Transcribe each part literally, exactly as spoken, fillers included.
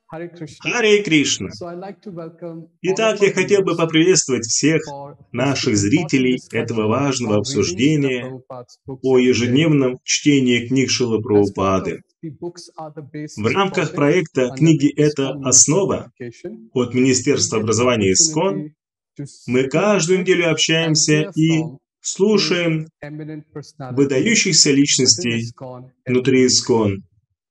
Hare Krishna. Харе Кришна. So I'd like to welcome all Итак, of я our хотел бы viewers поприветствовать всех for this наших important зрителей этого discussion важного on reading Srila обсуждения Prabhupada's books о every day. ежедневном чтении книг Шрилы As part of Прабхупады. the books are the В basis рамках project проекта under «Книги – the это ISKCON Ministry of основа» Education, от we Министерства get an образования ИСКОН, opportunity to мы speak каждую with неделю and общаемся hear и from слушаем eminent personalities выдающихся within личностей ISKCON every внутри week. ИСКОН.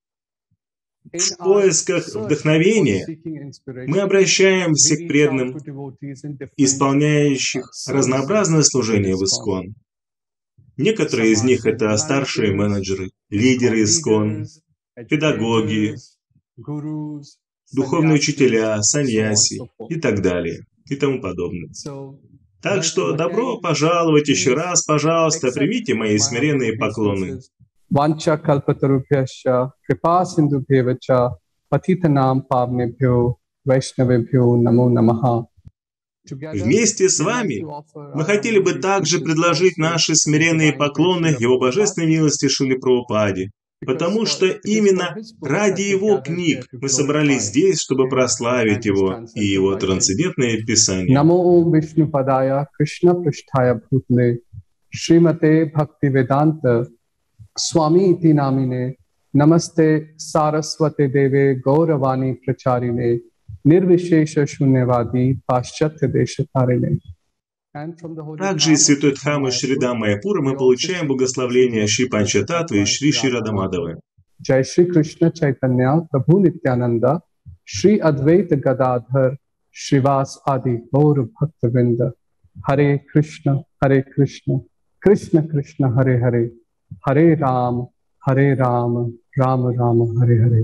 In В our поисках search for вдохновения seeking мы inspiration, обращаемся we к reach out преданным, to devotees in different uh, исполняющих разнообразное services within служение в ISKCON. ИСКОН. Некоторые Some из are них – это ceremony старшие managers, менеджеры, ISKCON лидеры ИСКОН, leaders, педагоги, educators, gurus, духовные sannyasis, учителя, and so on and саньяси so forth. и так далее, и тому подобное. So, Так что welcome добро again. пожаловать еще Please раз, пожалуйста, accept примите мои my humble смиренные поклоны. obeisances. Vancha kalpatarubhyascha kripa sindhubhyevacha patitanam pavnebhyo vaishnavebhyo namo namaha. Together, Вместе с we'd like вами to offer мы our хотели humble бы также obeisances предложить also наши to the смиренные Divine Grace поклоны Srila Его Prabhupada, Божественной милости Шриле Прабхупаде, because потому for что it is for именно His books ради that we Его gathered книг here to мы собрались glorify здесь, чтобы Him прославить and His Его и transcendental Его writings. трансцендентные писания. Namo Vishnu Padaya Krishna Pristhaya Bhutale Srimate Bhaktivedanta Swami iti namine Namaste Saraswate Deve Gauravani Pracharine Nirvishesha Shunyavadi Paschatya Deshatarine. And from the holy Также из palm of святой Shri Дхаммы Шри Mayapur, Дамайяпура we мы also получаем seek the blessings благословение of Шри Shri Панчататтвы и Srila Шри Шри Radha Madhava. Радамадавы. Jai Shri Krishna Chaitanya Prabhu Nityananda Shri Advaita Gadadhar Shrivas Adi Gaur Bhaktavinda. Hare Krishna, Hare Krishna, Krishna Krishna, Hare Hare, Hare Ram, Hare Ram, Ram Ram, Hare Hare.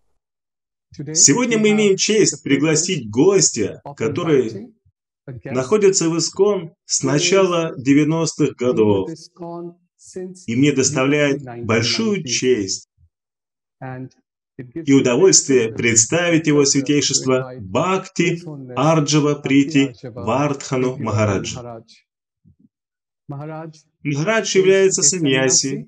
Today Сегодня we мы have имеем the честь privilege пригласить гостя, of который inviting a guest находится в ИСКОН с who is начала девяностых been with годов. ISKCON since И мне the доставляет early большую nineteen nineties. честь And it gives и me great удовольствие privilege представить and его pleasure to святейшество invite Бхакти His Holiness Арджава Bhakti Прити Arjava Вардхану Prithivardhan Махараджа. Maharaj. Maharaj Махарадж is является a саньяси sannyasi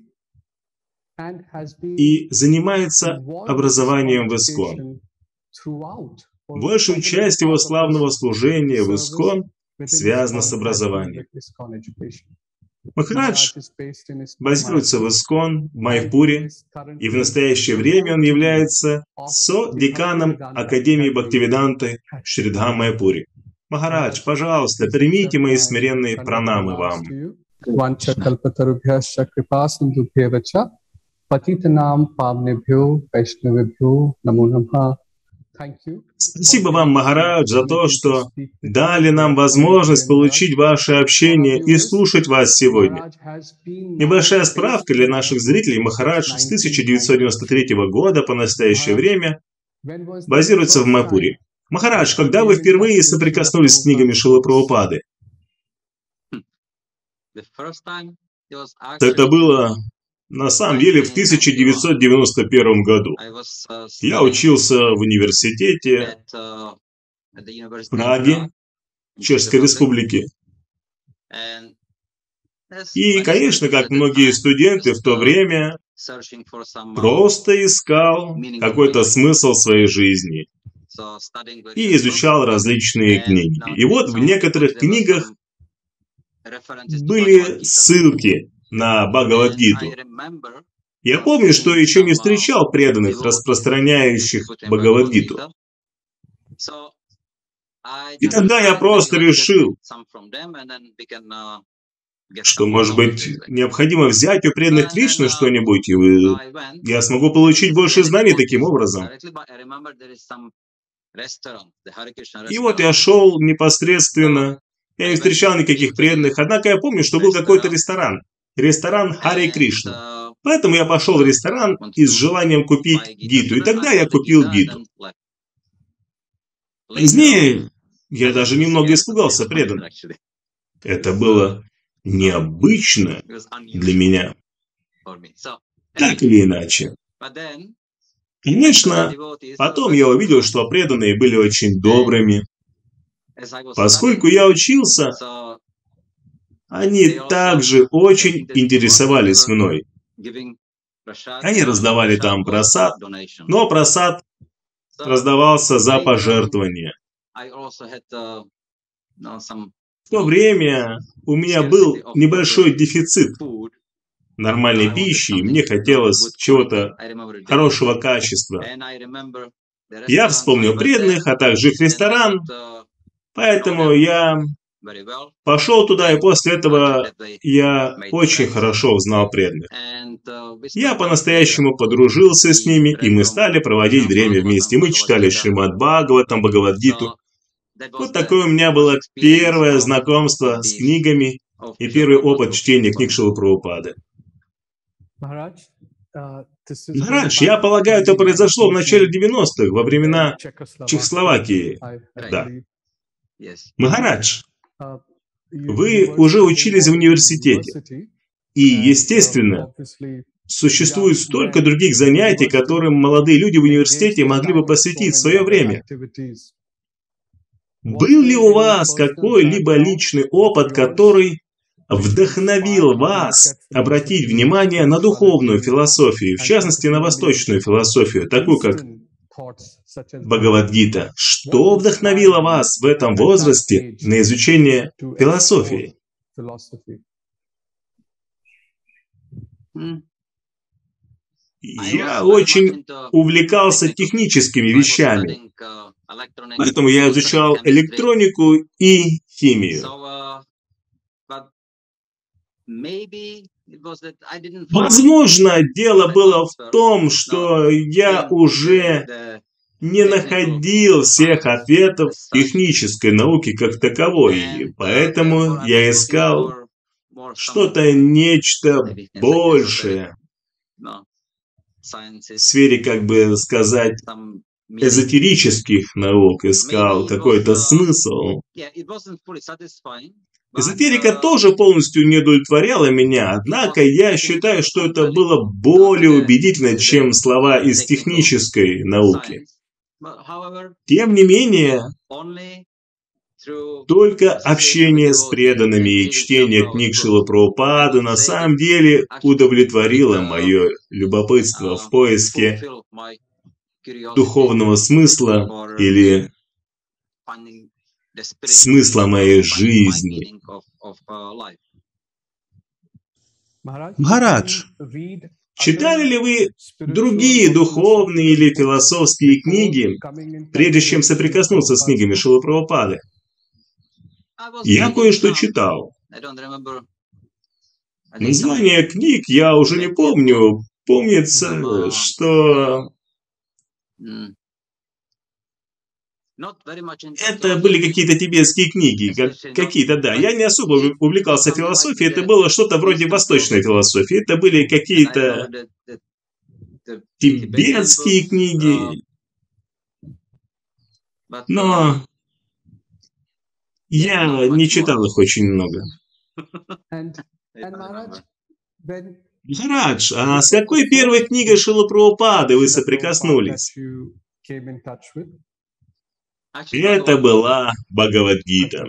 and has been и занимается involved with образованием ISKCON в ИСКОН. education throughout, or Большую probably часть его part of славного his служения в service ИСКОН within связана с ISKCON has been образованием. with ISKCON education. Махарадж Maharaj is based in ISKCON базируется в Mayapur ИСКОН в and Майпуре, is и в currently настоящее the время он co-dean является of the со-деканом Bhaktivedanta Академии Academy Бхактивиданты at Шри Mayapur. Майпуре. Махарадж, Maharaj, пожалуйста, please примите accept мои my смиренные Dandavat пранамы pranams вам. to you. Vancha kalpatarubhyascha kripa sindhubhyevacha patitanam pavnebhyo vaishnavebhyo namo namaha. Thank you for Спасибо вам, giving us the Махарадж, за то, opportunity to что speak with you дали and нам hear from you возможность today, Maharaj. получить ваше For our общение и viewers, слушать вас сегодня. Maharaj has been now Небольшая based справка in для наших Mayapur зрителей. since Махарадж с тысяча nineteen девятьсот девяносто ninety-three. третьего года по настоящее Maharaj, время when was the базируется в first time Майпуре. Махарадж, that you когда вы came in touch впервые with Srila соприкоснулись с книгами Prabhupada's Шрилы books? Прабхупады? The first time it was Это actually было на самом деле в тысяча девятьсот девяносто первом году. I was uh, Я studying учился в университете at, uh, at the в University of Праге, Prague in Czech Чешской Republic, Республике. and as И, many конечно, students как at that многие time, студенты в just то uh, время, searching for some uh, просто искал meaning of my какой-то life. смысл своей жизни So studying и various books, изучал различные and книги. now И in вот в some of the books некоторых there were книгах some references to Bhagavad были Gita, ссылки на and I Бхагавад-гиту. remember Я uh, помню, что seeing еще не some uh, встречал преданных, devotees распространяющих distributing Bhagavad Бхагавад-гиту. Gita. So I И just тогда я decided maybe просто let's get решил, some from them, and then we can uh, get что, some может knowledge быть, this way. необходимо взять у So преданных and then Кришны uh, что-нибудь, и so вы... I went. я смогу I получить didn't see больше any знаний таким devotees образом. directly, but I remember there is some restaurant, the Hare Krishna И вот я restaurant. шел So непосредственно, я не I went встречал никаких into the преданных, однако я помню, что был какой-то restaurant, ресторан, ресторан Харе and Кришна. uh, Поэтому я пошел в uh, ресторан wanted и с to желанием купить buy Gita. гиту, So и then тогда I я bought the купил Gita and гиту. then left. Later on, Позднее я I went даже to see немного a little испугался devoner преданных. actually. Это It was uh, было uh, необычно it was для unusual меня, for me. So так anyway, или иначе. but then I saw the Конечно, devotees were потом very я увидел, kind, что преданные были очень and добрыми. as I was studying, Поскольку я учился, so они they also также were очень interested in what, so they интересовались were мной. giving prasad, Они and раздавали prasad там was просад, donation. но просад раздавался за пожертвования. В то время у меня был небольшой дефицит нормальной пищи, и мне хотелось чего-то хорошего качества. Я вспомнил преданных, а также их ресторан, поэтому я пошел туда, и после этого я очень хорошо узнал преданных. Я по-настоящему подружился с ними, и мы стали проводить время вместе. Мы читали Шримад Бхагаватам, Бхагавад-гиту. Вот такое у меня было первое знакомство с книгами и первый опыт чтения книг Шрилы Прабхупады. Махарадж, я полагаю, это произошло в начале девяностых, во времена Чехословакии. Да. Махарадж, вы уже учились в университете. И, естественно, существует столько других занятий, которым молодые люди в университете могли бы посвятить свое время. Был ли у вас какой-либо личный опыт, который вдохновил вас обратить внимание на духовную философию, в частности, на восточную философию, такую как Бхагавад-гита? Что вдохновило вас в этом возрасте на изучение философии? Я очень увлекался техническими вещами, поэтому я изучал электронику и химию. Возможно, дело было в том, что я уже не находил всех ответов технической науки как таковой, и поэтому я искал что-то, нечто большее в сфере, как бы сказать, эзотерических наук, искал какой-то смысл. Эзотерика тоже полностью не удовлетворяла меня, однако я считаю, что это было более убедительно, чем слова из технической науки. Тем не менее, только общение с преданными и чтение книг Шрилы Прабхупады на самом деле удовлетворило мое любопытство в поиске духовного смысла или смысла моей жизни. Махарадж, читали ли вы другие духовные или философские книги, прежде чем соприкоснуться с книгами Шрилы Прабхупады? Я кое-что читал. Название книг я уже не помню. Помнится, что это были какие-то тибетские книги, как, какие-то, да. Я не особо увлекался философией, это было что-то вроде восточной философии. Это были какие-то тибетские книги. Но я не читал их очень много. Махарадж, а с какой первой книгой Шрилы Прабхупады вы соприкоснулись? Это была Бхагавад-гита.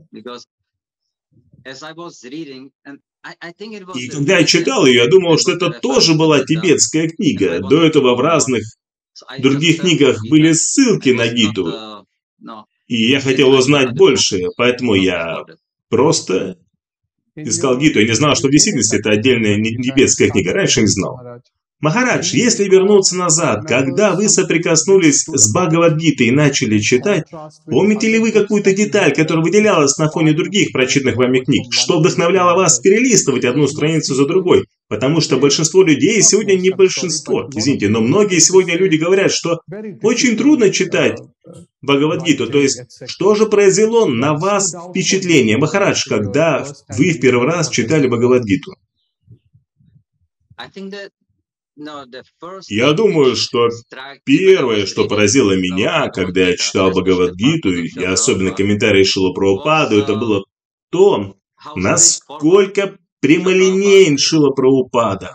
И когда я читал ее, я думал, что это тоже была тибетская книга. До этого в разных других книгах были ссылки на гиту. И я хотел узнать больше, поэтому я просто искал гиту. Я не знал, что в действительности это отдельная тибетская книга. Раньше не знал. Махарадж, если вернуться назад, когда вы соприкоснулись с Бхагавад-гитой и начали читать, помните ли вы какую-то деталь, которая выделялась на фоне других прочитанных вами книг? Что вдохновляло вас перелистывать одну страницу за другой? Потому что большинство людей, сегодня не большинство, извините, но многие сегодня люди говорят, что очень трудно читать Бхагавад-гиту. То есть, что же произвело на вас впечатление, Махарадж, когда вы в первый раз читали Бхагавад-гиту? Я думаю, что первое, что поразило меня, когда я читал Бхагавад-гиту, и особенно комментарии Шрилы Прабхупады, это было то, насколько прямолинеен Шрила Прабхупада.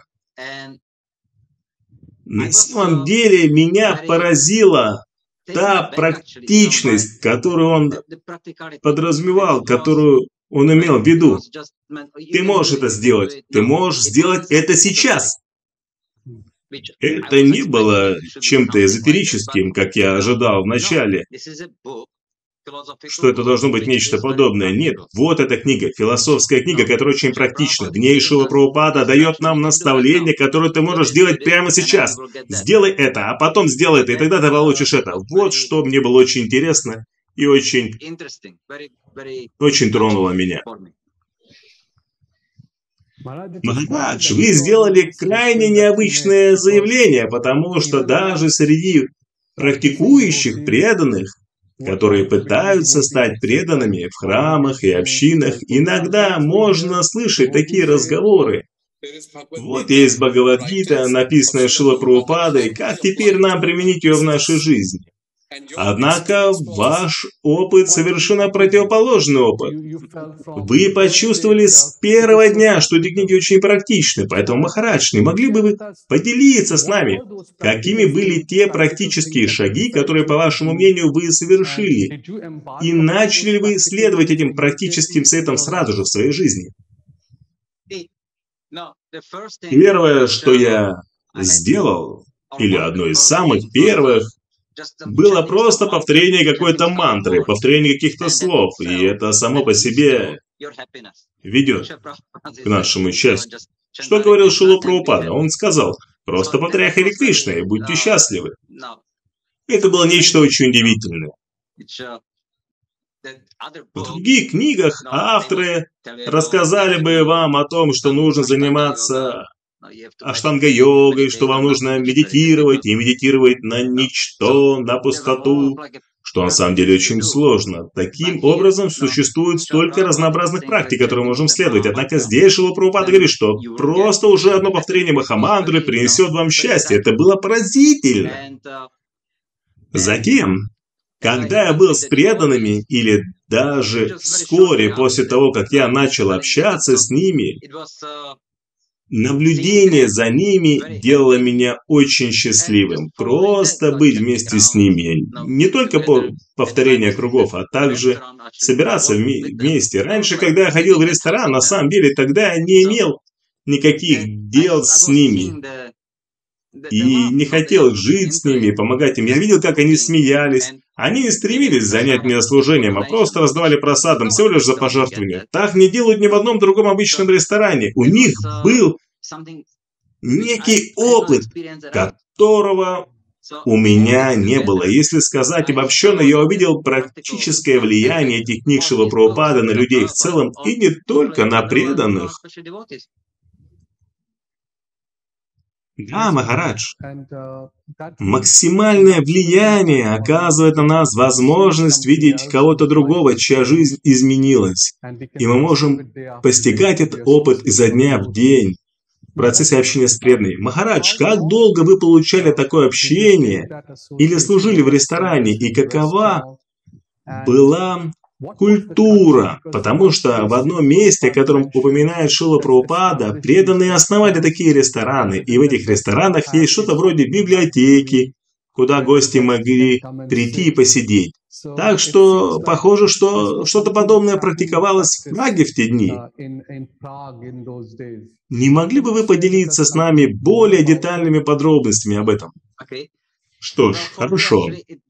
На самом деле меня поразила та практичность, которую он подразумевал, которую он имел в виду. Ты можешь это сделать, ты можешь сделать это сейчас. Это не было чем-то эзотерическим, как я ожидал вначале, что это должно быть нечто подобное. Нет, вот эта книга, философская книга, которая очень практична. В ней Шрила Прабхупада дает нам наставление, которое ты можешь делать прямо сейчас. Сделай это, а потом сделай это, и тогда ты получишь это. Вот что мне было очень интересно и очень, очень тронуло меня. Махарадж, вы сделали крайне необычное заявление, потому что даже среди практикующих преданных, которые пытаются стать преданными в храмах и общинах, иногда можно слышать такие разговоры. Вот есть Бхагавад-гита, написанная Шрилой Прабхупадой, как теперь нам применить ее в нашей жизни? Однако ваш опыт совершенно противоположный опыт. Вы почувствовали с первого дня, что эти книги очень практичны, поэтому, Махарадж, не могли бы вы поделиться с нами, какими были те практические шаги, которые, по вашему мнению, вы совершили, и начали ли вы следовать этим практическим советам сразу же в своей жизни? Первое, что я сделал, или одно из самых первых, было просто повторение какой-то мантры, повторение каких-то слов, и это само по себе ведет к нашему счастью. Что говорил Шрила Прабхупада? Он сказал, просто повторяй Харе Кришна и будьте счастливы. Это было нечто очень удивительное. В других книгах авторы рассказали бы вам о том, что нужно заниматься аштанга-йогой, что вам нужно медитировать, и медитировать на ничто, на пустоту, что на самом деле очень сложно. Таким образом, существует столько разнообразных практик, которые мы можем следовать. Однако здесь Шрила Прабхупада говорит, что просто уже одно повторение Махамантры принесет вам счастье. Это было поразительно. Затем, когда я был с преданными, или даже вскоре после того, как я начал общаться с ними, наблюдение за ними делало меня очень счастливым. Просто быть вместе с ними. Не только по повторению кругов, а также собираться вместе. Раньше, когда я ходил в ресторан, на самом деле тогда я не имел никаких дел с ними. И не хотел жить с ними, помогать им. Я видел, как они смеялись. Они не стремились занять меня служением, а просто раздавали просадам всего лишь за пожертвования. Так не делают ни в одном другом обычном ресторане. У них был некий опыт, которого у меня не было. Если сказать обобщенно, я увидел практическое влияние этих книг Шрилы Прабхупады на людей в целом, и не только на преданных. Да, Махарадж, максимальное влияние оказывает на нас возможность видеть кого-то другого, чья жизнь изменилась. И мы можем постигать этот опыт изо дня в день в процессе общения с преданными. Махарадж, как долго вы получали такое общение или служили в ресторане, и какова была культура, потому что в одном месте, о котором упоминает Шрила Прабхупада, преданные основали такие рестораны, и в этих ресторанах есть что-то вроде библиотеки, куда гости могли прийти и посидеть. Так что похоже, что что-то подобное практиковалось в Праге в те дни. Не могли бы вы поделиться с нами более детальными подробностями об этом? Что ж, хорошо.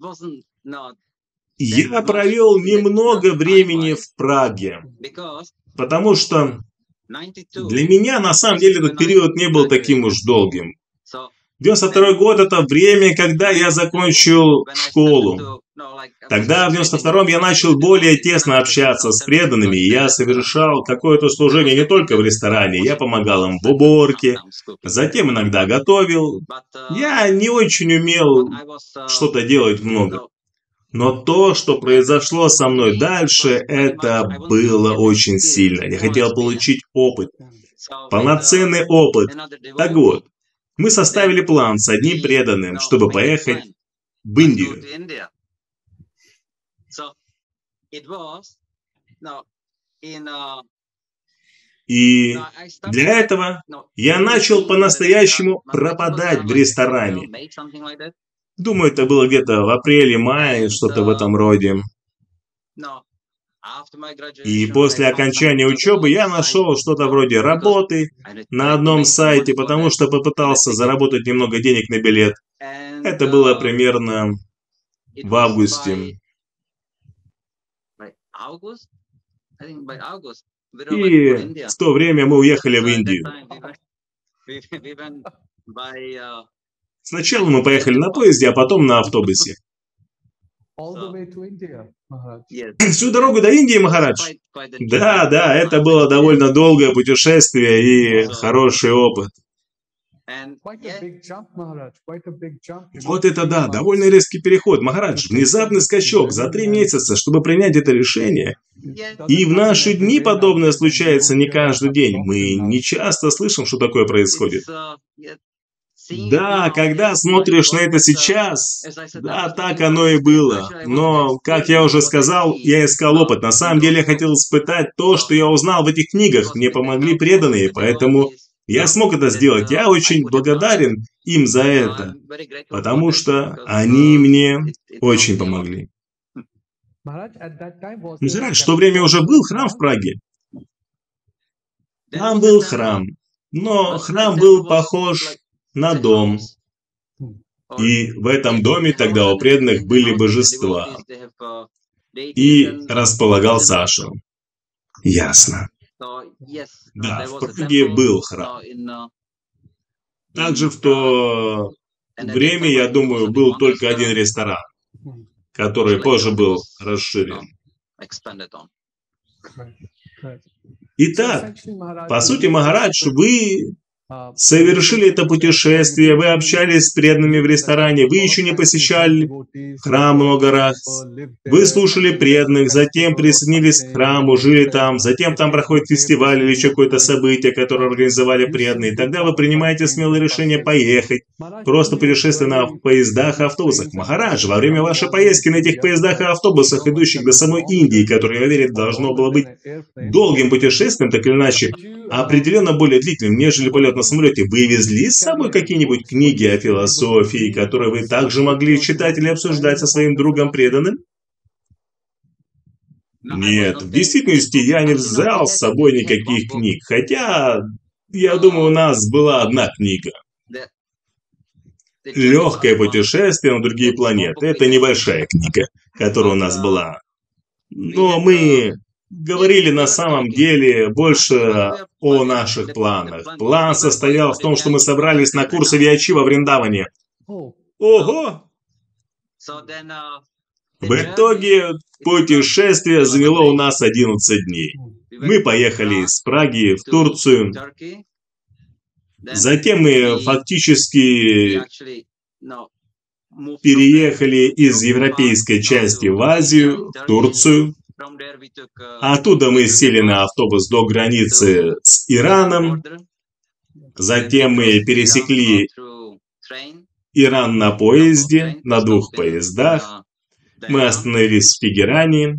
Я провел немного времени в Праге, потому что для меня на самом деле этот период не был таким уж долгим. девяносто второй год – это время, когда я закончил школу. Тогда, в девяносто втором, я начал более тесно общаться с преданными, и я совершал какое-то служение не только в ресторане, я помогал им в уборке, затем иногда готовил. Я не очень умел что-то делать много. Но то, что произошло со мной дальше, это было очень сильно. Я хотел получить опыт, полноценный опыт. Так вот, мы составили план с одним преданным, чтобы поехать в Индию. И для этого я начал по-настоящему пропадать в ресторане. Думаю, это было где-то в апреле-мае, что-то в этом роде. И после окончания учебы я нашел что-то вроде работы на одном сайте, потому что попытался заработать немного денег на билет. Это было примерно в августе. И в то время мы уехали в Индию. Сначала мы поехали на поезде, а потом на автобусе. Всю дорогу до Индии, Махарадж? Да, да, это было довольно долгое путешествие и хороший опыт. Вот это да, довольно резкий переход, Махарадж. Внезапный скачок за три месяца, чтобы принять это решение. И в наши дни подобное случается не каждый день. Мы не часто слышим, что такое происходит. Да, когда смотришь на это сейчас, да, так оно и было. Но, как я уже сказал, я искал опыт. На самом деле я хотел испытать то, что я узнал в этих книгах. Мне помогли преданные, поэтому я смог это сделать. Я очень благодарен им за это, потому что они мне очень помогли. Махарадж, в то время уже был храм в Праге. Там был храм, но храм был похож на дом. И в этом доме тогда у преданных были божества. И располагался ашрам. Ясно. Да, в Праге был храм. Также в то время, я думаю, был только один ресторан, который позже был расширен. Итак, по сути, Махарадж, вы совершили это путешествие, вы общались с преданными в ресторане, вы еще не посещали храм много раз, вы слушали преданных, затем присоединились к храму, жили там, затем там проходит фестиваль или еще какое-то событие, которое организовали преданные, и тогда вы принимаете смелое решение поехать, просто путешествие на поездах и автобусах. Махарадж, во время вашей поездки на этих поездах и автобусах, идущих до самой Индии, которое, я уверен, должно было быть долгим путешествием, так или иначе, определенно более длительным, нежели полет на самолете, вы везли с собой какие-нибудь книги о философии, которые вы также могли читать или обсуждать со своим другом преданным? Нет, в действительности я не взял с собой никаких книг, хотя, я думаю, у нас была одна книга. «Легкое путешествие на другие планеты» — это небольшая книга, которая у нас была. Но мы говорили на самом деле больше о наших планах. План состоял в том, что мы собрались на курсы Виачи во Вриндаване. Ого! В итоге путешествие заняло у нас одиннадцать дней. Мы поехали из Праги в Турцию. Затем мы фактически переехали из европейской части в Азию, в Турцию. Оттуда мы сели на автобус до границы с Ираном. Затем мы пересекли Иран на поезде, на двух поездах. Мы остановились в Тегеране.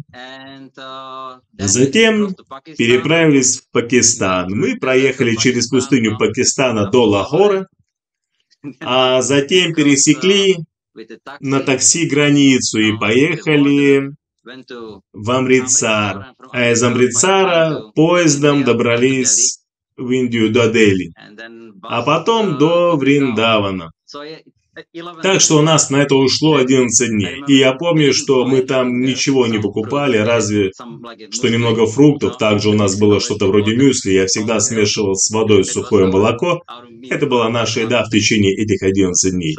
Затем переправились в Пакистан. Мы проехали через пустыню Пакистана до Лахора. А затем пересекли на такси границу и поехали в Амритсар, а из Амритсара поездом добрались в Индию до Дели, а потом до Вриндавана. Так что у нас на это ушло одиннадцать дней. И я помню, что мы там ничего не покупали, разве что немного фруктов. Также у нас было что-то вроде мюсли. Я всегда смешивал с водой сухое молоко. Это была наша еда в течение этих одиннадцати дней.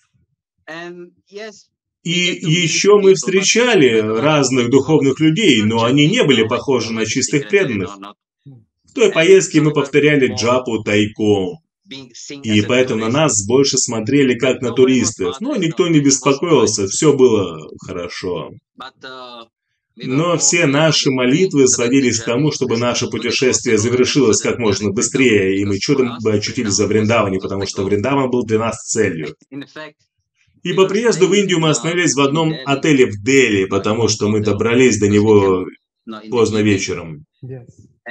И еще мы встречали разных духовных людей, но они не были похожи на чистых преданных. В той поездке мы повторяли джапу тайком. И поэтому на нас больше смотрели как на туристов. Но никто не беспокоился, все было хорошо. Но все наши молитвы сводились к тому, чтобы наше путешествие завершилось как можно быстрее, и мы чудом бы очутились за Вриндаване, потому что Вриндаван был для нас целью. И по приезду в Индию мы остановились в одном отеле в Дели, потому что мы добрались до него поздно вечером.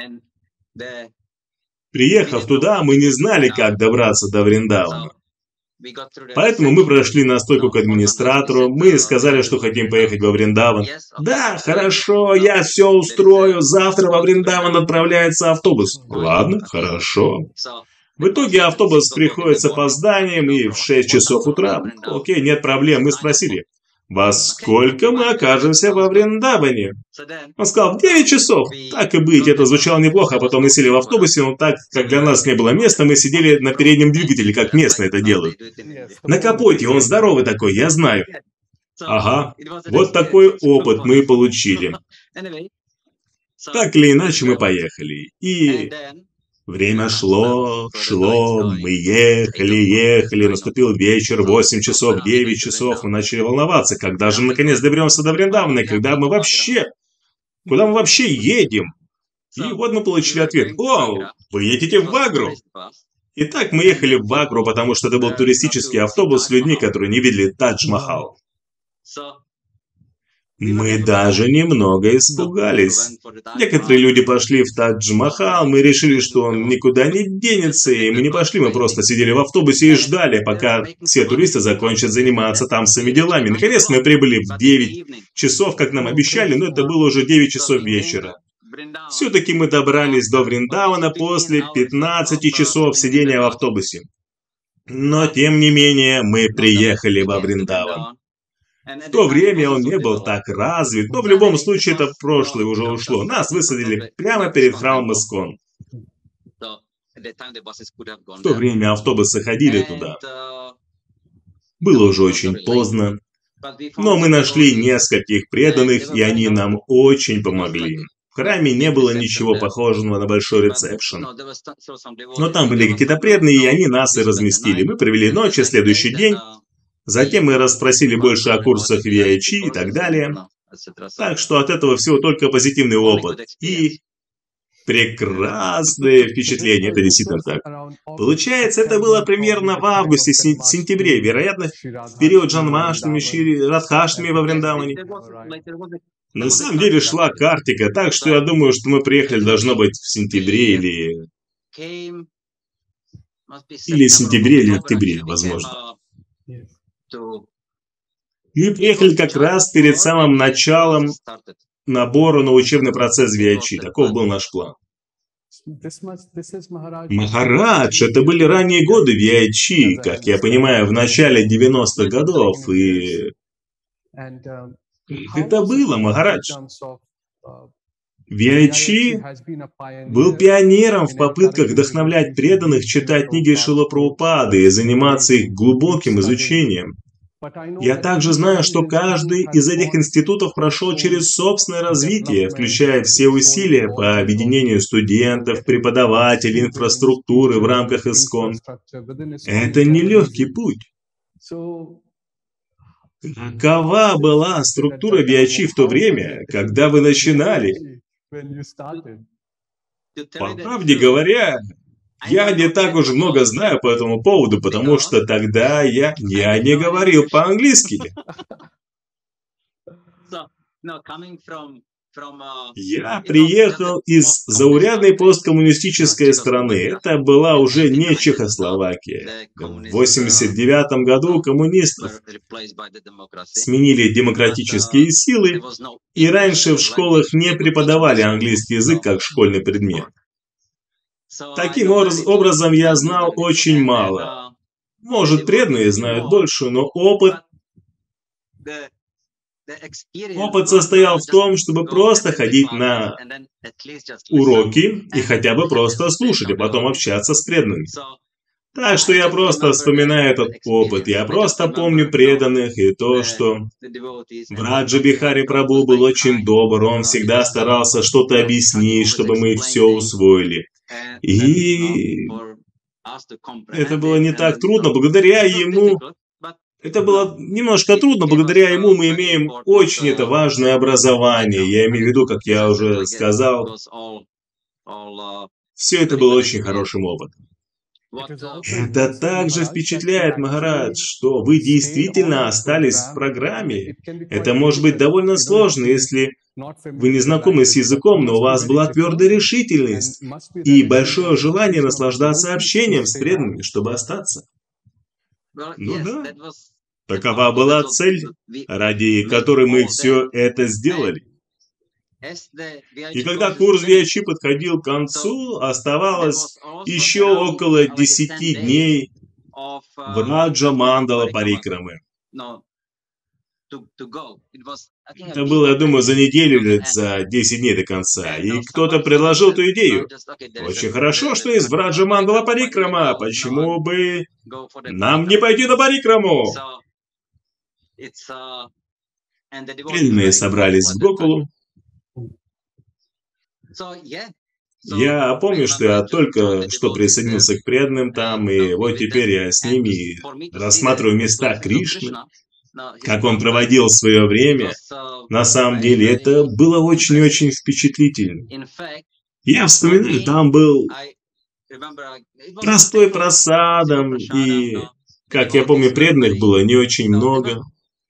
Приехав туда, мы не знали, как добраться до Вриндавана. Поэтому мы прошли на стойку к администратору, мы сказали, что хотим поехать во Вриндаван. Да, хорошо, я все устрою, завтра во Вриндаван отправляется автобус. Ладно, хорошо. В итоге автобус приходит с опозданием и в шесть часов утра. Окей, нет проблем, мы спросили, во сколько мы окажемся во Вриндаване? Он сказал, в девять часов. Так и быть, это звучало неплохо, а потом мы сели в автобусе, но так как для нас не было места, мы сидели на переднем двигателе, как местные это делают. На капоте, он здоровый такой, я знаю. Ага, вот такой опыт мы получили. Так или иначе мы поехали. И время шло, шло, мы ехали, ехали, наступил вечер, восемь часов, девять часов, мы начали волноваться, когда же мы наконец доберемся до Вриндавана, когда мы вообще, куда мы вообще едем? И вот мы получили ответ, о, вы едете в Агру. Итак, мы ехали в Агру, потому что это был туристический автобус с людьми, которые не видели Тадж-Махал. Мы даже немного испугались. Некоторые люди пошли в Тадж-Махал, мы решили, что он никуда не денется, и мы не пошли, мы просто сидели в автобусе и ждали, пока все туристы закончат заниматься там своими делами. Наконец мы прибыли в девять часов, как нам обещали, но это было уже девять часов вечера. Все-таки мы добрались до Вриндавана после пятнадцати часов сидения в автобусе. Но, тем не менее, мы приехали во Вриндаван. В то время он не был так развит, но в любом случае это прошлое уже ушло. Нас высадили прямо перед храмом Искон. В то время автобусы ходили туда. Было уже очень поздно. Но мы нашли нескольких преданных, и они нам очень помогли. В храме не было ничего похожего на большой ресепшн. Но там были какие-то преданные, и они нас и разместили. Мы провели ночь и следующий день. Затем мы расспросили больше о курсах ви ай чи и так далее. Так что от этого всего только позитивный опыт. И прекрасное впечатление, это действительно так. Получается, это было примерно в августе-сентябре, вероятно, в период Джанмаштами, Шри Радхаштами во Вриндаване. На самом деле шла картика, так что я думаю, что мы приехали, должно быть, в сентябре или... Или в сентябре, или октябре, возможно. И приехали как раз перед самым началом набора на учебный процесс ви ай чи. Таков был наш план. Махарадж, это были ранние годы ви ай чи, как я понимаю, в начале девяностых годов, и... Это было, Махарадж. ви ай чи был пионером в попытках вдохновлять преданных читать книги Шрилы Прабхупады и заниматься их глубоким изучением. Я также знаю, что каждый из этих институтов прошел через собственное развитие, включая все усилия по объединению студентов, преподавателей, инфраструктуры в рамках ИСККОН. Это нелегкий путь. Какова была структура ви ай чи в то время, когда вы начинали? По правде говоря, я не так уж много знаю по этому поводу, потому что тогда я, я не говорил по-английски. Я приехал из заурядной посткоммунистической страны. Это была уже не Чехословакия. В восемьдесят девятом году коммунистов сменили демократические силы, и раньше в школах не преподавали английский язык как школьный предмет. Таким образом, я знал очень мало. Может, преданные знают больше, но опыт... Опыт состоял в том, чтобы просто ходить на уроки и хотя бы просто слушать, а потом общаться с преданными. Так что я просто вспоминаю этот опыт. Я просто помню преданных и то, что Враджа Бихари Прабху был очень добр, он всегда старался что-то объяснить, чтобы мы все усвоили. И это было не так трудно, благодаря ему... Это было немножко трудно, благодаря ему мы имеем очень это важное образование. Я имею в виду, как я уже сказал, все это было очень хорошим опытом. Это также впечатляет, Махарадж, что вы действительно остались в программе. Это может быть довольно сложно, если вы не знакомы с языком, но у вас была твердая решительность и большое желание наслаждаться общением с преданными, чтобы остаться. Ну да, такова была цель, ради которой мы все это сделали. И когда курс ви ай чи подходил к концу, оставалось еще около десяти дней Враджа Мандала Парикрамы. Это было, я думаю, за неделю или за десять дней до конца. И кто-то предложил эту идею. Очень хорошо, что есть Враджа Мандала Парикрама. Почему бы нам не пойти на Парикраму? Преданные собрались в Гокулу. Я помню, что я только что присоединился к преданным там, и вот теперь я с ними рассматриваю места Кришны, как он проводил свое время. На самом деле это было очень-очень впечатлительно. Я вспоминаю, там был простой просадом, и, как я помню, преданных было не очень много.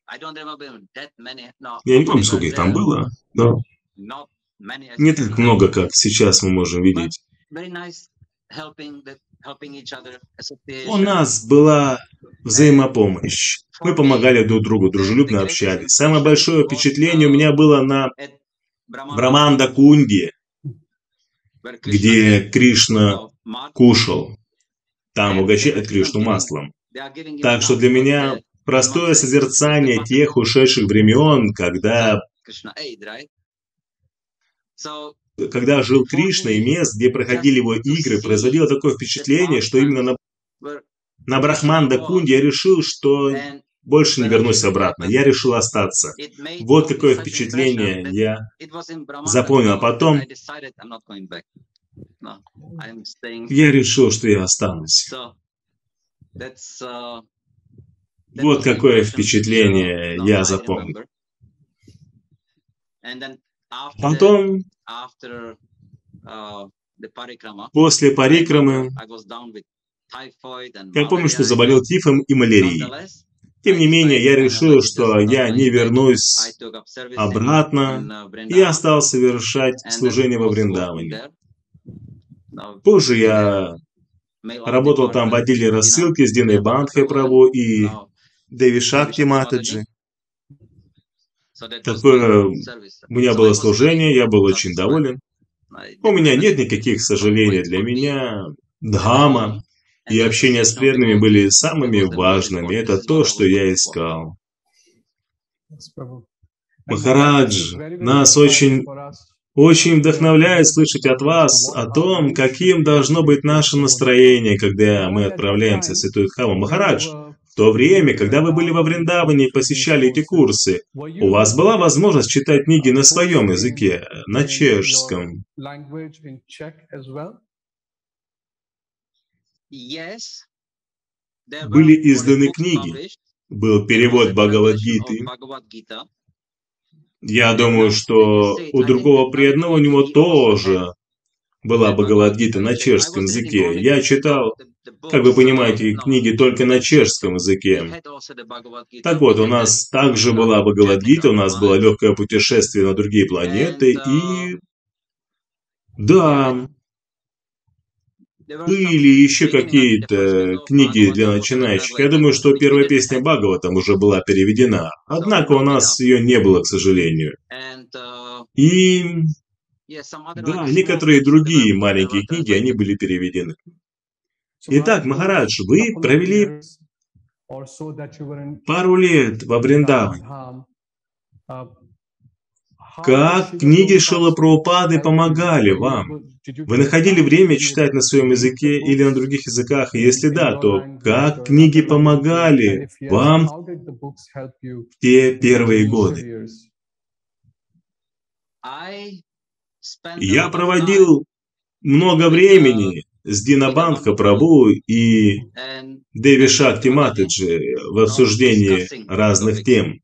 Я не помню, сколько их там было, но не так много, как сейчас мы можем видеть. У нас была взаимопомощь. Мы помогали друг другу, дружелюбно общались. Самое большое впечатление у меня было на Браманда-кунде, где Кришна кушал. Там угощают Кришну маслом. Так что для меня простое созерцание тех ушедших времен, когда, когда жил Кришна, и мест, где проходили его игры, производило такое впечатление, что именно на, на Брахманда-кунде я решил, что больше не вернусь обратно. Я решил остаться. Вот какое впечатление я запомнил. А потом я решил, что я останусь. Вот какое впечатление я запомнил. Потом, после парикрамы, я помню, что заболел тифом и малярией. Тем не менее, я решил, что я не вернусь обратно и остался совершать служение во Вриндаване. Позже я работал там в отделе рассылки с Диной Бандхой Прабhu и Деви Шакти Матаджи. Такое у меня было служение, я был очень доволен. У меня нет никаких сожалений. Для меня дхама и общение с преданными были самыми важными. Это то, что я искал. Махарадж, нас очень, очень вдохновляет слышать от вас о том, каким должно быть наше настроение, когда мы отправляемся в Святую Дхаму. Махарадж, в то время, когда вы были во Вриндаване и посещали эти курсы, у вас была возможность читать книги на своем языке, на чешском? Были изданы книги, был перевод Бхагавад-гиты. Я думаю, что у другого преданного у него тоже была Бхагавад-гита на чешском языке. Я читал, как вы понимаете, книги только на чешском языке. Так вот, у нас также была Бхагавад-гита, у нас было легкое путешествие на другие планеты, и... Да... Были еще какие-то книги для начинающих. Я думаю, что первая песня Бхагаватам уже была переведена. Однако у нас ее не было, к сожалению. И... Да, некоторые другие маленькие книги, они были переведены. Итак, Махарадж, вы провели пару лет во Вриндаване. Как книги Шрилы Прабхупады помогали вам? Вы находили время читать на своем языке или на других языках? И если да, то как книги помогали вам в те первые годы? Я проводил много времени с Дина Бандха Прабhu и Деви Шакти Матаджи в обсуждении разных тем.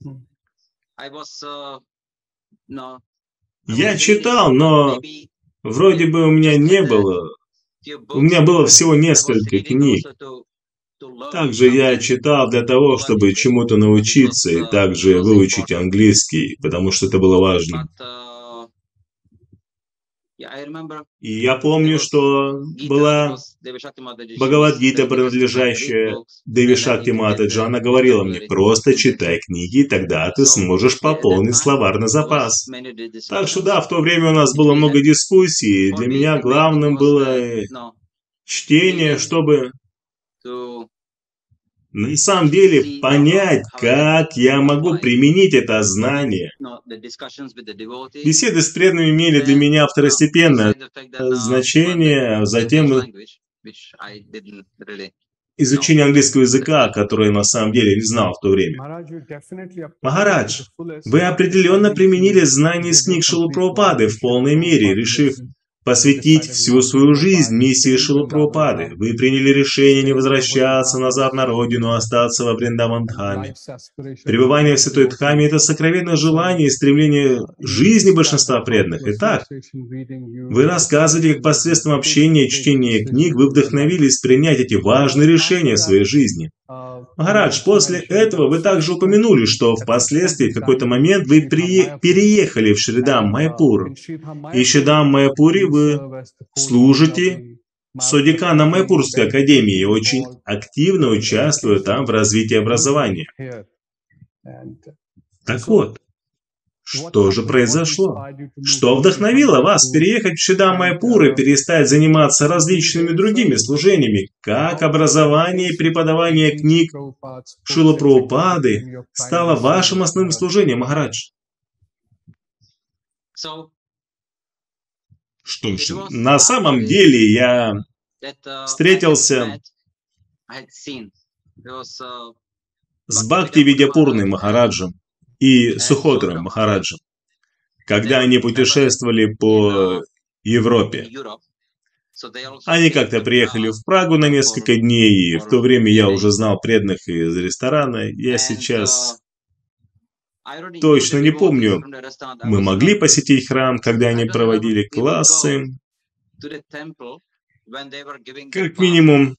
Я читал, но вроде бы у меня не было. У меня было всего несколько книг. Также я читал для того, чтобы чему-то научиться и также выучить английский, потому что это было важно. И я помню, что была Бхагавад-гита, принадлежащая Деви Шакти Матаджи. Она говорила мне: просто читай книги, тогда ты сможешь пополнить словарный запас. Так что да, в то время у нас было много дискуссий. Для меня главным было чтение, чтобы на самом деле понять, как я могу применить это знание. Беседы с преданными имели для меня второстепенное значение, затем изучение английского языка, которое я на самом деле не знал в то время. Махарадж, вы определенно применили знания из книг Шрилы Прабхупады в полной мере, решив посвятить всю свою жизнь миссии Шрилы Прабхупады. Вы приняли решение не возвращаться назад на родину, а остаться во Вриндаван-дхаме. Пребывание в Святой Дхаме – это сокровенное желание и стремление жизни большинства преданных. Итак, вы рассказываете, как посредством общения и чтения книг вы вдохновились принять эти важные решения в своей жизни. Махарадж, после этого вы также упомянули, что впоследствии в какой-то момент вы при... переехали в Шридам Майяпур. И в Шридам Майяпуре вы служите содеканом Майяпурской академии и очень активно участвуя там в развитии образования. Так вот, что же произошло? Что вдохновило вас переехать в Шридам Майяпур и перестать заниматься различными другими служениями, как образование и преподавание книг Шрилы Прабхупады стало вашим основным служением, Махарадж? Что ж, на самом деле я встретился с Бхакти-Видьяпурной Махараджем и Сухотром Махараджем, когда они путешествовали по Европе. Они как-то приехали в Прагу на несколько дней, и в то время я уже знал преданных из ресторана. Я сейчас точно не помню, мы могли посетить храм, когда они проводили классы. Как минимум,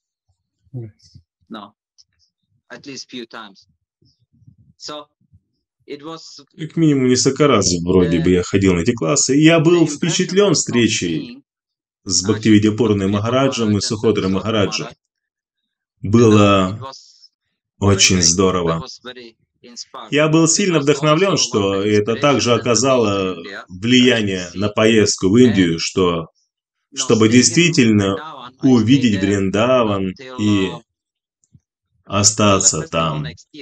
как минимум несколько раз вроде бы я ходил на эти классы. И я был впечатлен встречей с Бхакти-Видьяпурной Махараджем и Сухотрой Махараджем. Было очень здорово. Я был сильно вдохновлен, что это также оказало влияние на поездку в Индию, что, чтобы действительно увидеть Вриндаван и остаться там.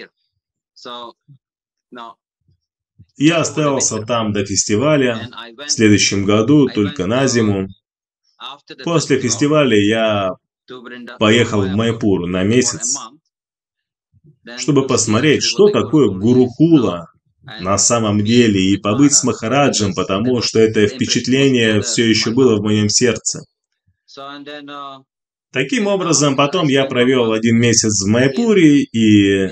Я остался там до фестиваля в следующем году, только на зиму. После фестиваля я поехал в Майяпур на месяц, чтобы посмотреть, что такое Гурукула на самом деле, и побыть с Махараджем, потому что это впечатление все еще было в моем сердце. Таким образом, потом я провел один месяц в Майяпуре, и...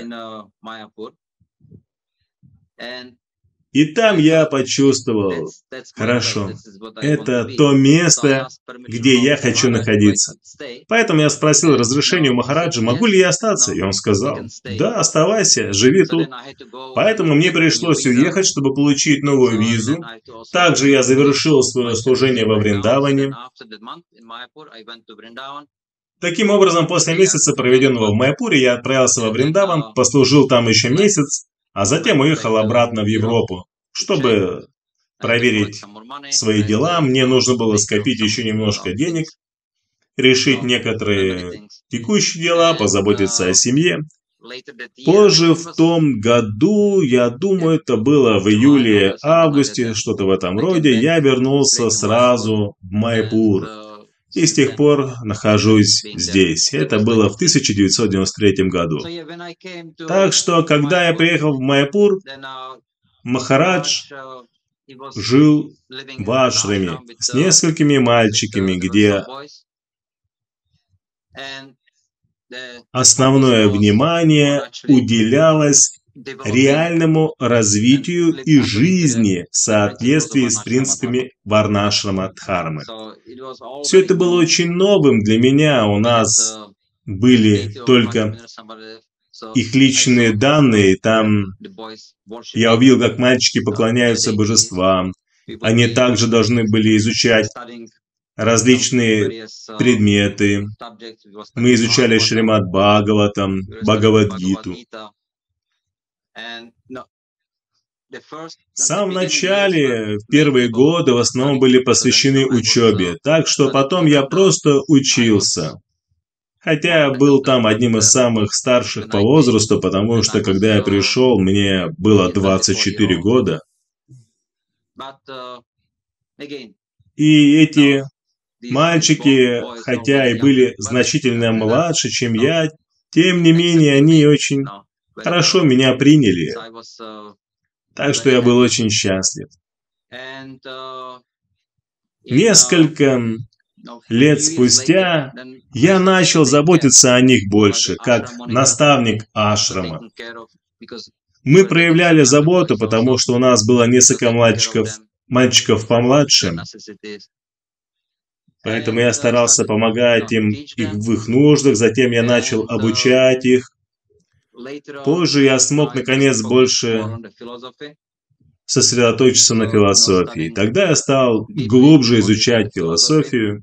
И там я почувствовал, хорошо, это то место, где я хочу находиться. Поэтому я спросил разрешения у Махараджа, могу ли я остаться, и он сказал, да, оставайся, живи тут. Поэтому мне пришлось уехать, чтобы получить новую визу. Также я завершил свое служение во Вриндаване. Таким образом, после месяца, проведенного в Майяпуре, я отправился во Вриндаван, послужил там еще месяц, а затем уехал обратно в Европу, чтобы проверить свои дела. Мне нужно было скопить еще немножко денег, решить некоторые текущие дела, позаботиться о семье. Позже в том году, я думаю, это было в июле-августе, что-то в этом роде, я вернулся сразу в Майяпур. И с тех пор нахожусь здесь. Это было в тысяча девятьсот девяносто третьем году. Так что, когда я приехал в Майяпур, Махарадж жил в ашраме с несколькими мальчиками, где основное внимание уделялось реальному развитию и жизни в соответствии с принципами варнашрама дхармы. Все это было очень новым для меня. У нас были только их личные данные. Там я увидел, как мальчики поклоняются божествам. Они также должны были изучать различные предметы. Мы изучали Шримад Бхагаватам, Бхагавад-гиту. В самом начале, в первые годы, в основном были посвящены учебе, так что потом я просто учился. Хотя я был там одним из самых старших по возрасту, потому что, когда я пришел, мне было двадцать четыре года. И эти мальчики, хотя и были значительно младше, чем я, тем не менее, они очень хорошо меня приняли. Так что я был очень счастлив. Несколько лет спустя я начал заботиться о них больше, как наставник ашрама. Мы проявляли заботу, потому что у нас было несколько мальчиков, мальчиков помладше. Поэтому я старался помогать им их в их нуждах, затем я начал обучать их. Позже я смог, наконец, больше сосредоточиться на философии. Тогда я стал глубже изучать философию.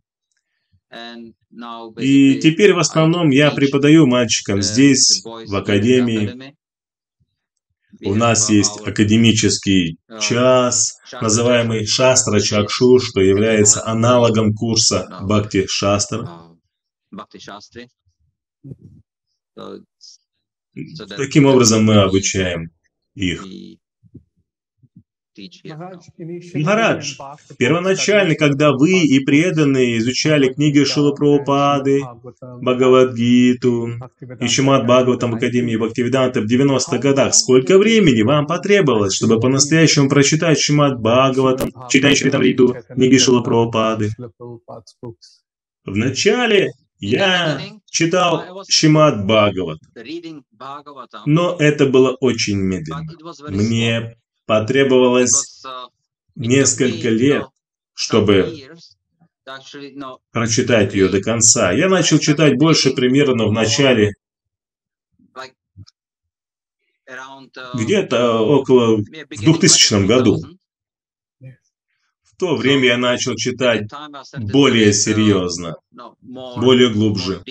И теперь в основном я преподаю мальчикам здесь, в академии. У нас есть академический час, называемый Шастра Чакшу, что является аналогом курса Бхакти Шастра. Таким образом мы обучаем их. Махарадж, первоначально, когда вы и преданные изучали книги Шрилы Прабхупады, Бхагавад-гиту и Шримад Бхагаватам в Академии Бхактивиданты в девяностых годах, сколько времени вам потребовалось, чтобы по-настоящему прочитать Шримад Бхагаватам, читать Чаритамриту, книги Шрилы Прабхупады? Вначале я читал Шримад Бхагават, но это было очень медленно. Мне потребовалось несколько лет, чтобы прочитать ее до конца. Я начал читать больше примерно в начале, где-то около в двухтысячном году. В то время я начал читать более серьезно, более глубже.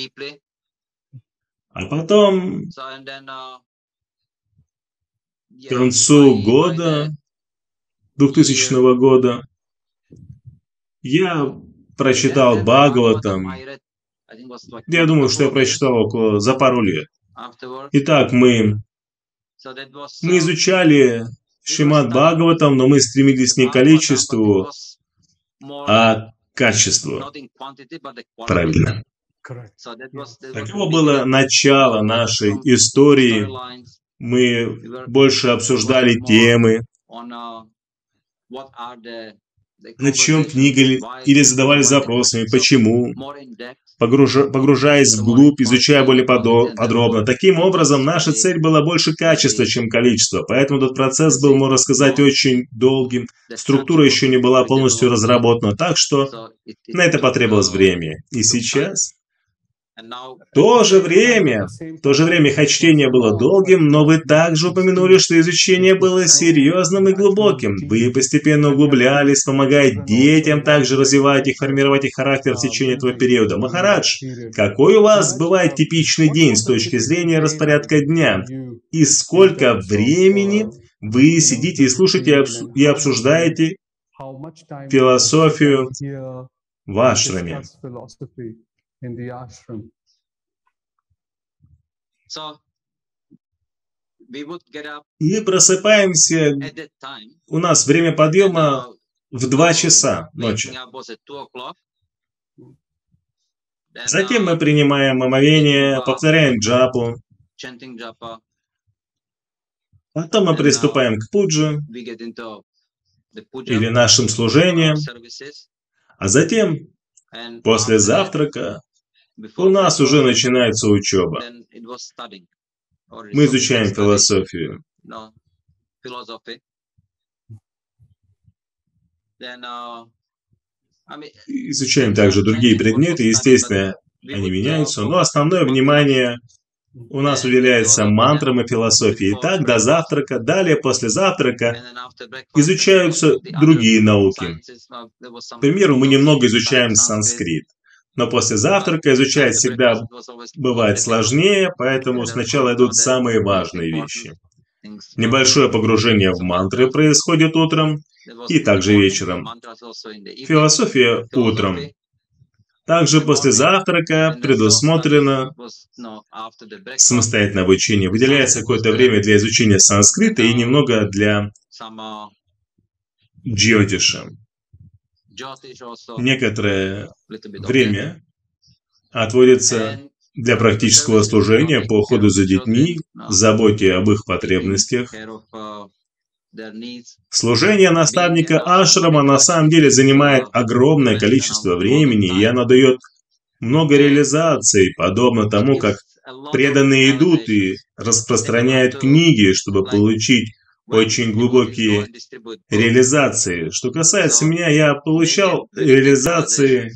А потом, к концу года, двухтысячного года, я прочитал Бхагаватам. Я думаю, что я прочитал около за пару лет. Итак, мы, мы изучали Шримад Бхагаватам, но мы стремились не к количеству, а к качеству. Правильно. Таково было начало нашей истории. Мы больше обсуждали темы, о чем книга, или задавали запросами, почему, погружа, погружаясь вглубь, изучая более подробно. Таким образом, наша цель была больше качества, чем количества, поэтому этот процесс был, можно сказать, очень долгим. Структура еще не была полностью разработана, так что на это потребовалось время. И сейчас... В то же время, в то же время, хоть чтение было долгим, но вы также упомянули, что изучение было серьезным и глубоким. Вы постепенно углублялись, помогая детям также развивать и формировать их характер в течение этого периода. Махарадж, какой у вас бывает типичный день с точки зрения распорядка дня? И сколько времени вы сидите и слушаете и обсуждаете философию в ашраме? Мы просыпаемся, у нас время подъема в два часа ночи. Затем мы принимаем омовение, повторяем джапу. Потом мы приступаем к пуджи или нашим служениям. А затем, после завтрака, у нас уже начинается учеба. Мы изучаем философию. Изучаем также другие предметы, естественно, они меняются, но основное внимание у нас уделяется мантрам и философии. И так до завтрака, далее после завтрака изучаются другие науки. К примеру, мы немного изучаем санскрит. Но после завтрака изучать всегда бывает сложнее, поэтому сначала идут самые важные вещи. Небольшое погружение в мантры происходит утром и также вечером. Философия утром. Также после завтрака предусмотрено самостоятельное обучение. Выделяется какое-то время для изучения санскрита и немного для джьотиша. Некоторое время отводится для практического служения по уходу за детьми, заботе об их потребностях. Служение наставника ашрама на самом деле занимает огромное количество времени, и оно дает много реализаций, подобно тому, как преданные идут и распространяют книги, чтобы получить очень глубокие реализации. Что касается меня, я получал реализации,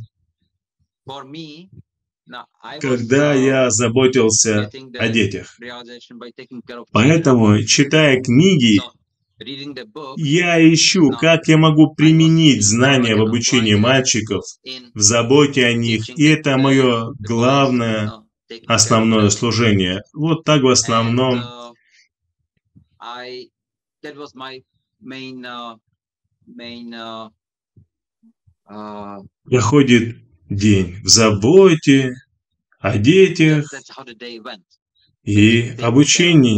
когда я заботился о детях. Поэтому, читая книги, я ищу, как я могу применить знания в обучении мальчиков, в заботе о них, и это мое главное, основное служение. Вот так в основном. Проходит день в заботе о детях и обучении.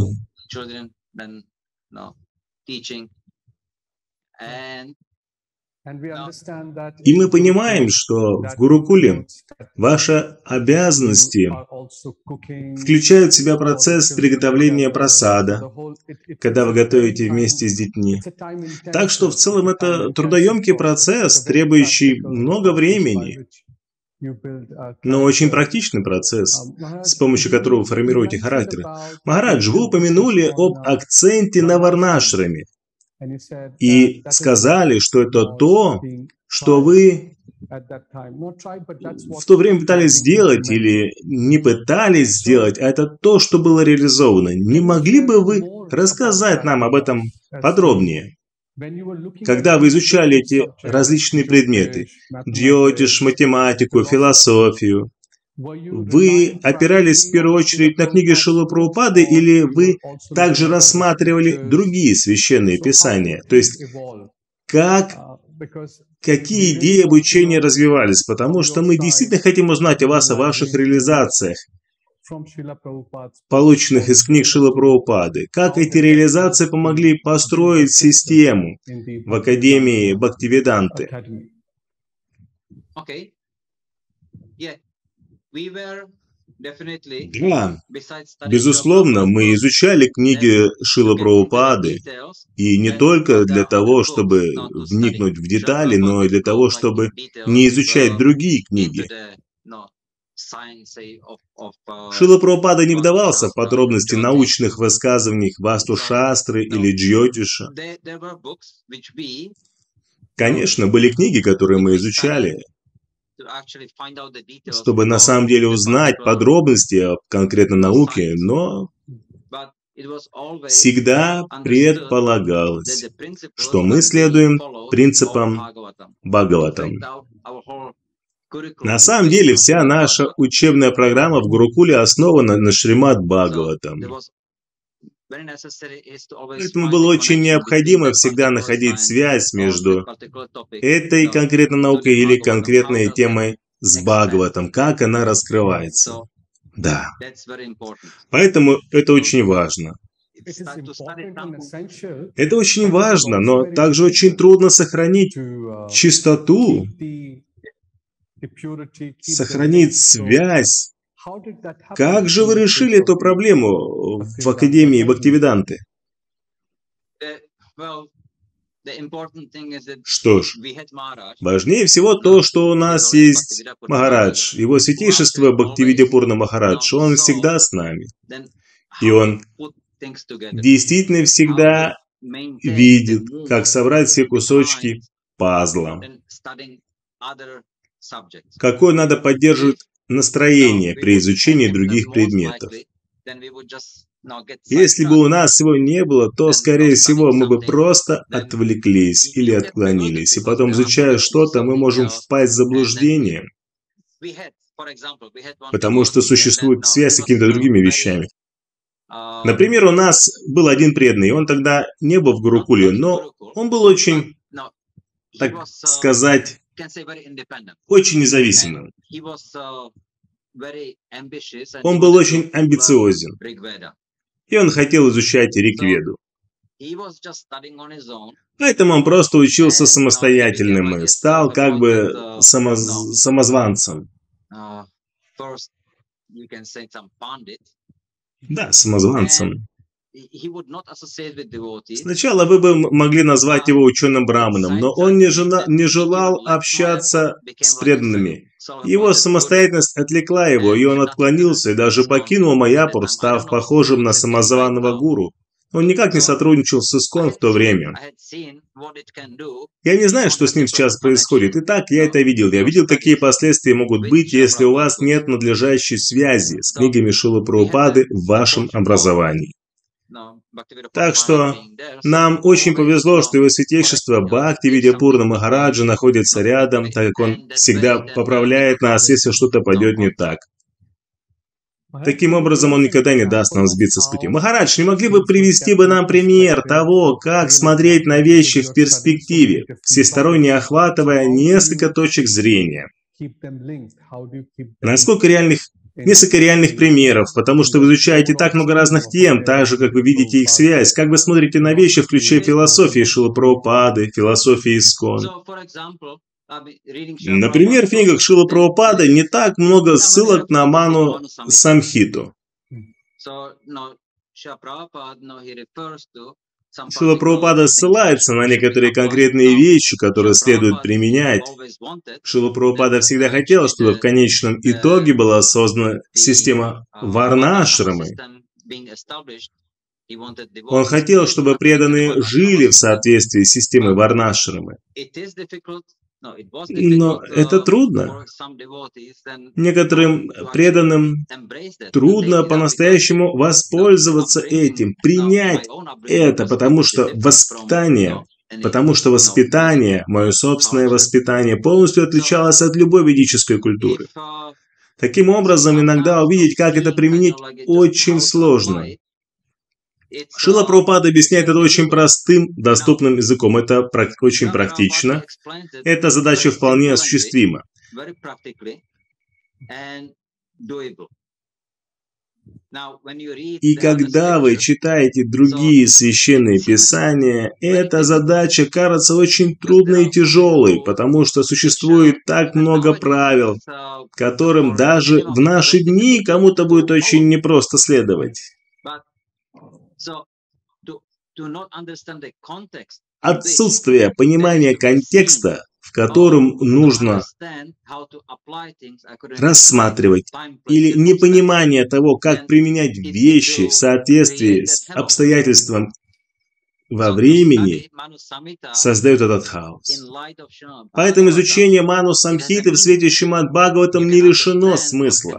И мы понимаем, что в Гурукуле ваши обязанности включают в себя процесс приготовления прасада, когда вы готовите вместе с детьми. Так что в целом это трудоемкий процесс, требующий много времени, но очень практичный процесс, с помощью которого вы формируете характер. Махарадж, вы упомянули об акценте на варнашраме и сказали, что это то, что вы в то время пытались сделать или не пытались сделать, а это то, что было реализовано. Не могли бы вы рассказать нам об этом подробнее? Когда вы изучали эти различные предметы, джьотиш, математику, философию, вы опирались в первую очередь на книги Шрилы Прабхупады или вы также рассматривали другие священные писания? То есть, как, какие идеи обучения развивались? Потому что мы действительно хотим узнать о вас, о ваших реализациях, полученных из книг Шрилы Прабхупады. Как эти реализации помогли построить систему в Академии Бхактивиданты? Да, безусловно, мы изучали книги Шрилы Прабхупады, и не только для того, чтобы вникнуть в детали, но и для того, чтобы не изучать другие книги. Шрила Прабхупада не вдавался в подробности научных высказываний Васту Шастры или Джьотиша. Конечно, были книги, которые мы изучали, чтобы на самом деле узнать подробности о конкретной науке, но всегда предполагалось, что мы следуем принципам Бхагаватам. На самом деле, вся наша учебная программа в Гурукуле основана на Шримад Бхагаватам. Поэтому было очень необходимо всегда находить связь между этой конкретной наукой или конкретной темой с Бхагаватом, как она раскрывается. Да. Поэтому это очень важно. Это очень важно, но также очень трудно сохранить чистоту, сохранить связь. Как же вы решили эту проблему в Академии Бхактивиданты? Что ж, важнее всего то, что у нас есть Махарадж, его святейшество Бхактивидья-Пурна Махарадж, он всегда с нами. И он действительно всегда видит, как собрать все кусочки пазла. Какое надо поддерживать настроение при изучении других предметов. Если бы у нас его не было, то, скорее всего, мы бы просто отвлеклись или отклонились. И потом, изучая что-то, мы можем впасть в заблуждение, потому что существует связь с какими-то другими вещами. Например, у нас был один преданный, он тогда не был в Гурукуле, но он был очень, так сказать, очень независимым. Он был очень амбициозен, и он хотел изучать Ригведу. Поэтому он просто учился самостоятельным и стал как бы самоз... самозванцем. Да, самозванцем. Сначала вы бы могли назвать его ученым браманом, но он не, жена, не желал общаться с преданными. Его самостоятельность отвлекла его, и он отклонился и даже покинул Майяпур, став похожим на самозваного гуру. Он никак не сотрудничал с Искон в то время. Я не знаю, что с ним сейчас происходит. Итак, я это видел. Я видел, какие последствия могут быть, если у вас нет надлежащей связи с книгами Шрилы Прабхупады в вашем образовании. Так что нам очень повезло, что его святейшество Бхактивидья Пурна Махараджа находится рядом, так как он всегда поправляет нас, если что-то пойдет не так. Таким образом, он никогда не даст нам сбиться с пути. Махарадж, не могли бы привести бы нам пример того, как смотреть на вещи в перспективе, всесторонне охватывая несколько точек зрения? Насколько реальных, несколько реальных примеров, потому что вы изучаете так много разных тем, так же, как вы видите их связь, как вы смотрите на вещи, включая философии Шрилы Прабхупады, философии Искон. Например, в книгах Шрилы Прабхупады не так много ссылок на Ману Самхиту. Шрила Прабхупада ссылается на некоторые конкретные вещи, которые следует применять. Шрила Прабхупада всегда хотел, чтобы в конечном итоге была создана система варна-ашрамы. Он хотел, чтобы преданные жили в соответствии с системой варна-ашрамы. Но это трудно. Некоторым преданным трудно по-настоящему воспользоваться этим, принять это, потому что воспитание, потому что воспитание, мое собственное воспитание, полностью отличалось от любой ведической культуры. Таким образом, иногда увидеть, как это применить, очень сложно. Шрила Прабхупада объясняет это очень простым, доступным языком. Это очень практично. Эта задача вполне осуществима. И когда вы читаете другие священные писания, эта задача кажется очень трудной и тяжелой, потому что существует так много правил, которым даже в наши дни кому-то будет очень непросто следовать. Отсутствие понимания контекста, в котором нужно рассматривать, или непонимание того, как применять вещи в соответствии с обстоятельством во времени, создает этот хаос. Поэтому изучение Ману Самхиты в свете Шримад Бхагаватам не лишено смысла.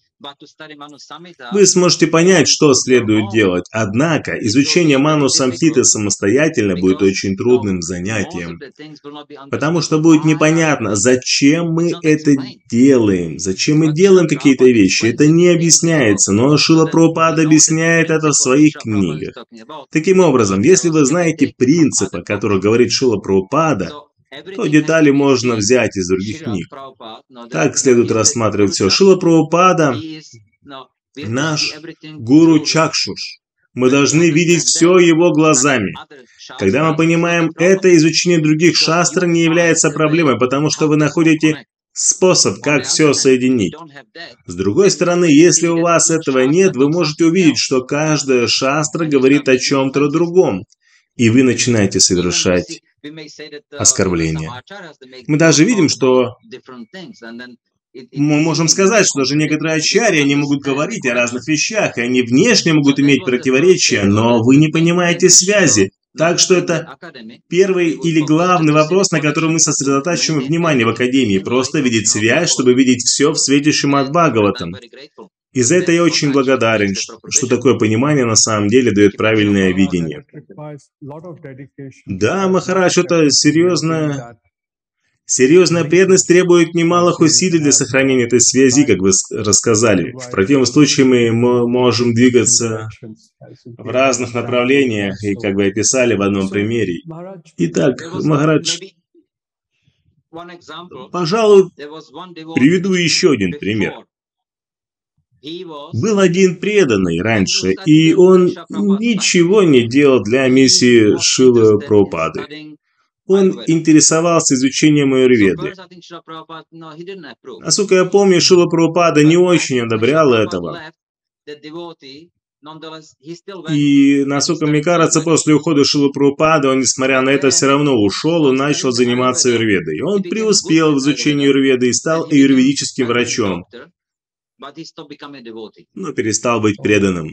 Вы сможете понять, что следует делать, однако изучение Ману Самхиты самостоятельно будет очень трудным занятием, потому что будет непонятно, зачем мы это делаем, зачем мы делаем какие-то вещи, это не объясняется, но Шрила Прабхупада объясняет это в своих книгах. Таким образом, если вы знаете принципы, о которых говорит Шрила Прабхупада, то детали можно взять из других книг. Так следует рассматривать все. Шрила Прабхупада – наш гуру Чакшуш. Мы должны видеть все его глазами. Когда мы понимаем это, изучение других шастр не является проблемой, потому что вы находите способ, как все соединить. С другой стороны, если у вас этого нет, вы можете увидеть, что каждая шастра говорит о чем-то другом, и вы начинаете совершать оскорбления. Мы даже видим, что мы можем сказать, что даже некоторые ачарьи, они могут говорить о разных вещах, и они внешне могут иметь противоречия, но вы не понимаете связи. Так что это первый или главный вопрос, на который мы сосредотачиваем внимание в Академии. Просто видеть связь, чтобы видеть все в свете Шримад Бхагаватам. И за это я очень благодарен, что такое понимание на самом деле дает правильное видение. Да, Махарадж, это серьезная, серьезная преданность требует немалых усилий для сохранения этой связи, как вы рассказали. В противном случае мы можем двигаться в разных направлениях, и как вы описали в одном примере. Итак, Махарадж, пожалуй, приведу еще один пример. Был один преданный раньше, и он ничего не делал для миссии Шрилы Прабхупады. Он интересовался изучением аюрведы. Насколько я помню, Шрила Прабхупада не очень одобрял этого. И, насколько мне кажется, после ухода Шрилы Прабхупады, он, несмотря на это, все равно ушел и начал заниматься аюрведой. Он преуспел в изучении аюрведы и стал аюрведическим врачом, но перестал быть преданным,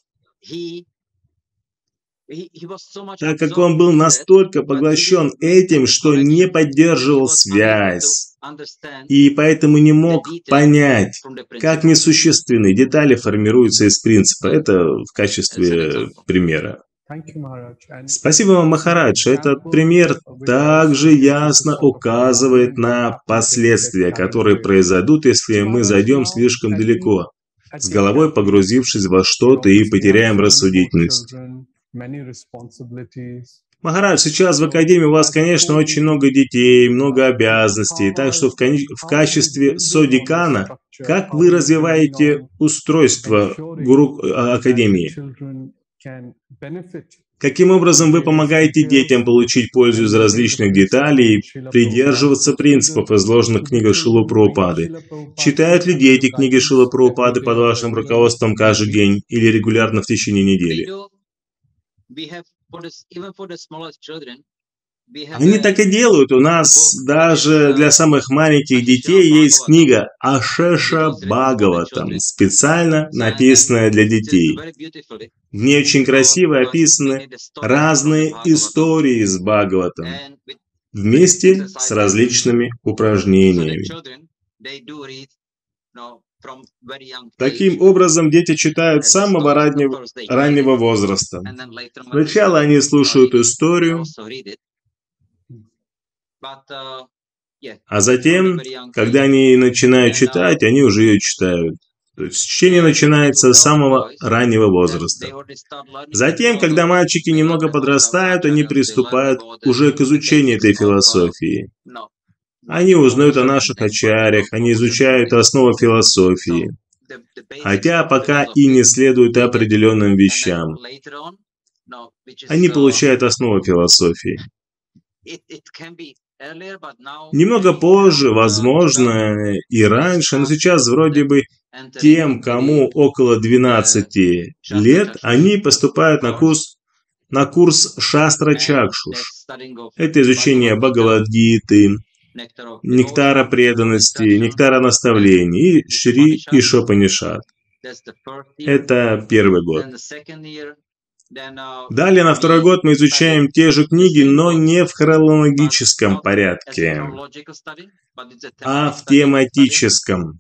так как он был настолько поглощен этим, что не поддерживал связь, и поэтому не мог понять, как несущественные детали формируются из принципа. Это в качестве примера. Спасибо вам, Махарадж. Этот пример также ясно указывает на последствия, которые произойдут, если мы зайдем слишком далеко, с головой погрузившись во что-то и потеряем рассудительность. Махарадж, сейчас в Академии у вас, конечно, очень много детей, много обязанностей, так что в, в качестве содекана, как вы развиваете устройство гуру Академии? Каким образом вы помогаете детям получить пользу из различных деталей и придерживаться принципов, изложенных в книгах Шрилы Прабхупады? Читают ли дети книги Шрилы Прабхупады под вашим руководством каждый день или регулярно в течение недели? Они так и делают. У нас даже для самых маленьких детей есть книга Ашеша Бхагаватам, специально написанная для детей. В ней очень красиво описаны разные истории из Бхагаватам, вместе с различными упражнениями. Таким образом, дети читают с самого раннего, раннего возраста. Сначала они слушают историю, а затем, когда они начинают читать, они уже ее читают. То есть чтение начинается с самого раннего возраста. Затем, когда мальчики немного подрастают, они приступают уже к изучению этой философии. Они узнают о наших ачарьях, они изучают основы философии, хотя пока и не следуют определенным вещам. Они получают основу философии. Немного позже, возможно, и раньше, но сейчас вроде бы тем, кому около двенадцати лет, они поступают на курс, на курс Шастра Чакшуш. Это изучение Бхагавад-гиты, Нектара преданности, Нектара наставлений и Шри Ишопанишад. Это первый год. Далее, на второй год мы изучаем те же книги, но не в хронологическом порядке, а в тематическом.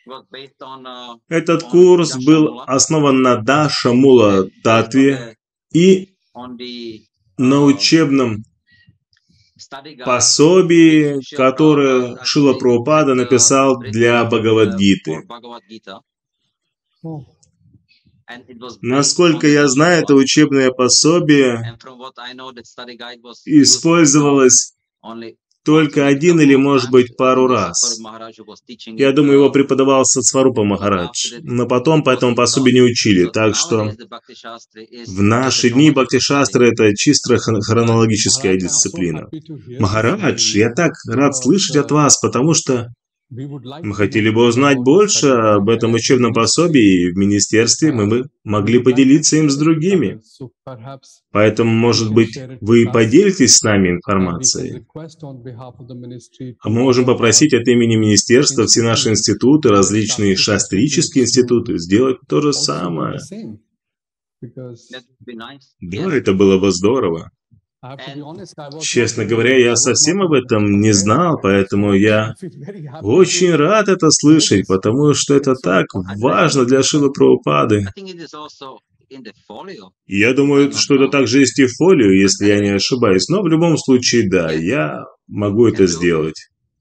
Этот курс был основан на Даша Мула Татве и на учебном пособии, которое Шрила Прабхупада написал для Бхагавад-гиты. Насколько я знаю, это учебное пособие использовалось только один или, может быть, пару раз. Я думаю, его преподавал Сатсварупа Махарадж, но потом по этому пособию не учили, так что в наши дни Бхакти-шастра — это чисто хронологическая дисциплина. Махарадж, я так рад слышать от вас, потому что мы хотели бы узнать больше об этом учебном пособии, и в министерстве мы бы могли поделиться им с другими. Поэтому, может быть, вы поделитесь с нами информацией? А мы можем попросить от имени министерства все наши институты, различные шастрические институты, сделать то же самое. Да, это было бы здорово. Честно говоря, я совсем об этом не знал, поэтому я очень рад это слышать, потому что это так важно для Шрилы Прабхупады. Я думаю, что это также есть и в фолио, если я не ошибаюсь, но в любом случае, да, я могу это сделать.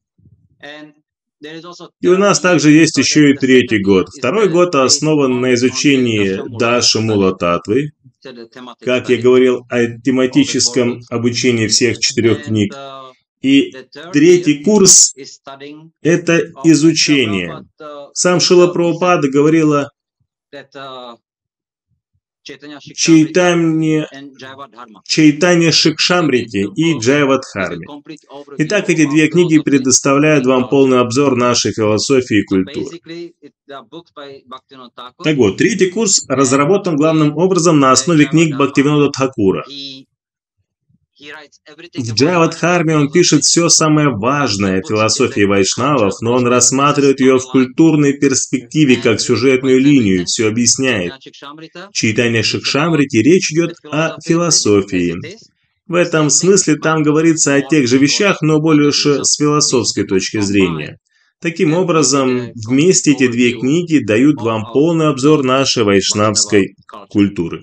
И у нас также есть еще и третий год. Второй год основан на изучении Даши Мула Татвы, как я говорил, о тематическом обучении всех четырех книг. И третий курс – это изучение. Сам Шрила Прабхупада говорила Чайтанья, Чайтанья Шикшамрити и Джайавадхарми. Итак, эти две книги предоставляют вам полный обзор нашей философии и культуры. Так вот, третий курс разработан главным образом на основе книг Бхактивинода Тхакура. В Джайавадхарме он пишет все самое важное о философии вайшнавов, но он рассматривает ее в культурной перспективе, как сюжетную линию, все объясняет. В Чайтанья Шикшамрити речь идет о философии. В этом смысле там говорится о тех же вещах, но больше с философской точки зрения. Таким образом, вместе эти две книги дают вам полный обзор нашей вайшнавской культуры.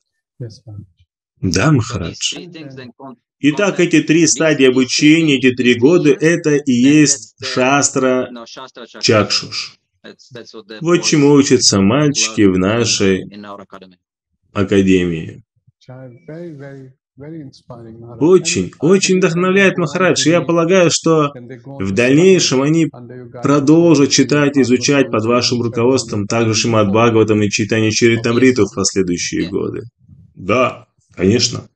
Да, Махарадж. Итак, эти три стадии обучения, эти три года, это и есть Шастра Чакшуш. Вот чему учатся мальчики в нашей академии. Очень, очень вдохновляет Махарадж. Я полагаю, что в дальнейшем они продолжат читать и изучать под вашим руководством также Шримад Бхагаватам и Чайтанья Чаритамриту в последующие годы. Да. Конечно.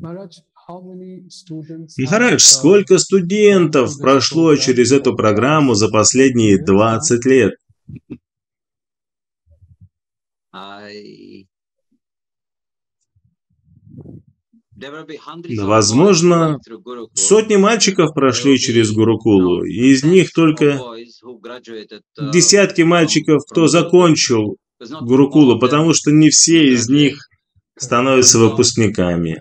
Махарадж, сколько студентов прошло через эту программу за последние двадцать лет? Возможно, сотни мальчиков прошли через Гурукулу, и из них только десятки мальчиков, кто закончил Гурукулу, потому что не все из них становятся выпускниками.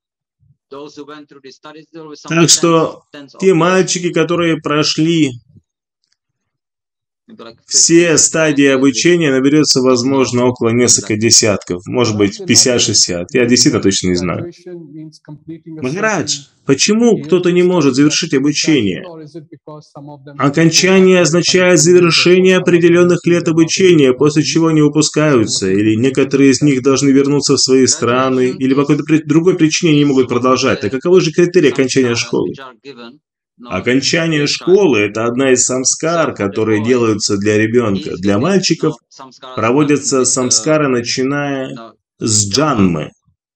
Так что те мальчики, которые прошли все стадии обучения, наберется, возможно, около нескольких десятков, может быть, пятьдесят-шестьдесят. Я действительно точно не знаю. Махарадж, почему кто-то не может завершить обучение? Окончание означает завершение определенных лет обучения, после чего они выпускаются, или некоторые из них должны вернуться в свои страны, или по какой-то другой причине не могут продолжать. Так каковы же критерии окончания школы? Окончание школы – это одна из самскар, которые делаются для ребенка. Для мальчиков проводятся самскары, начиная с джанмы.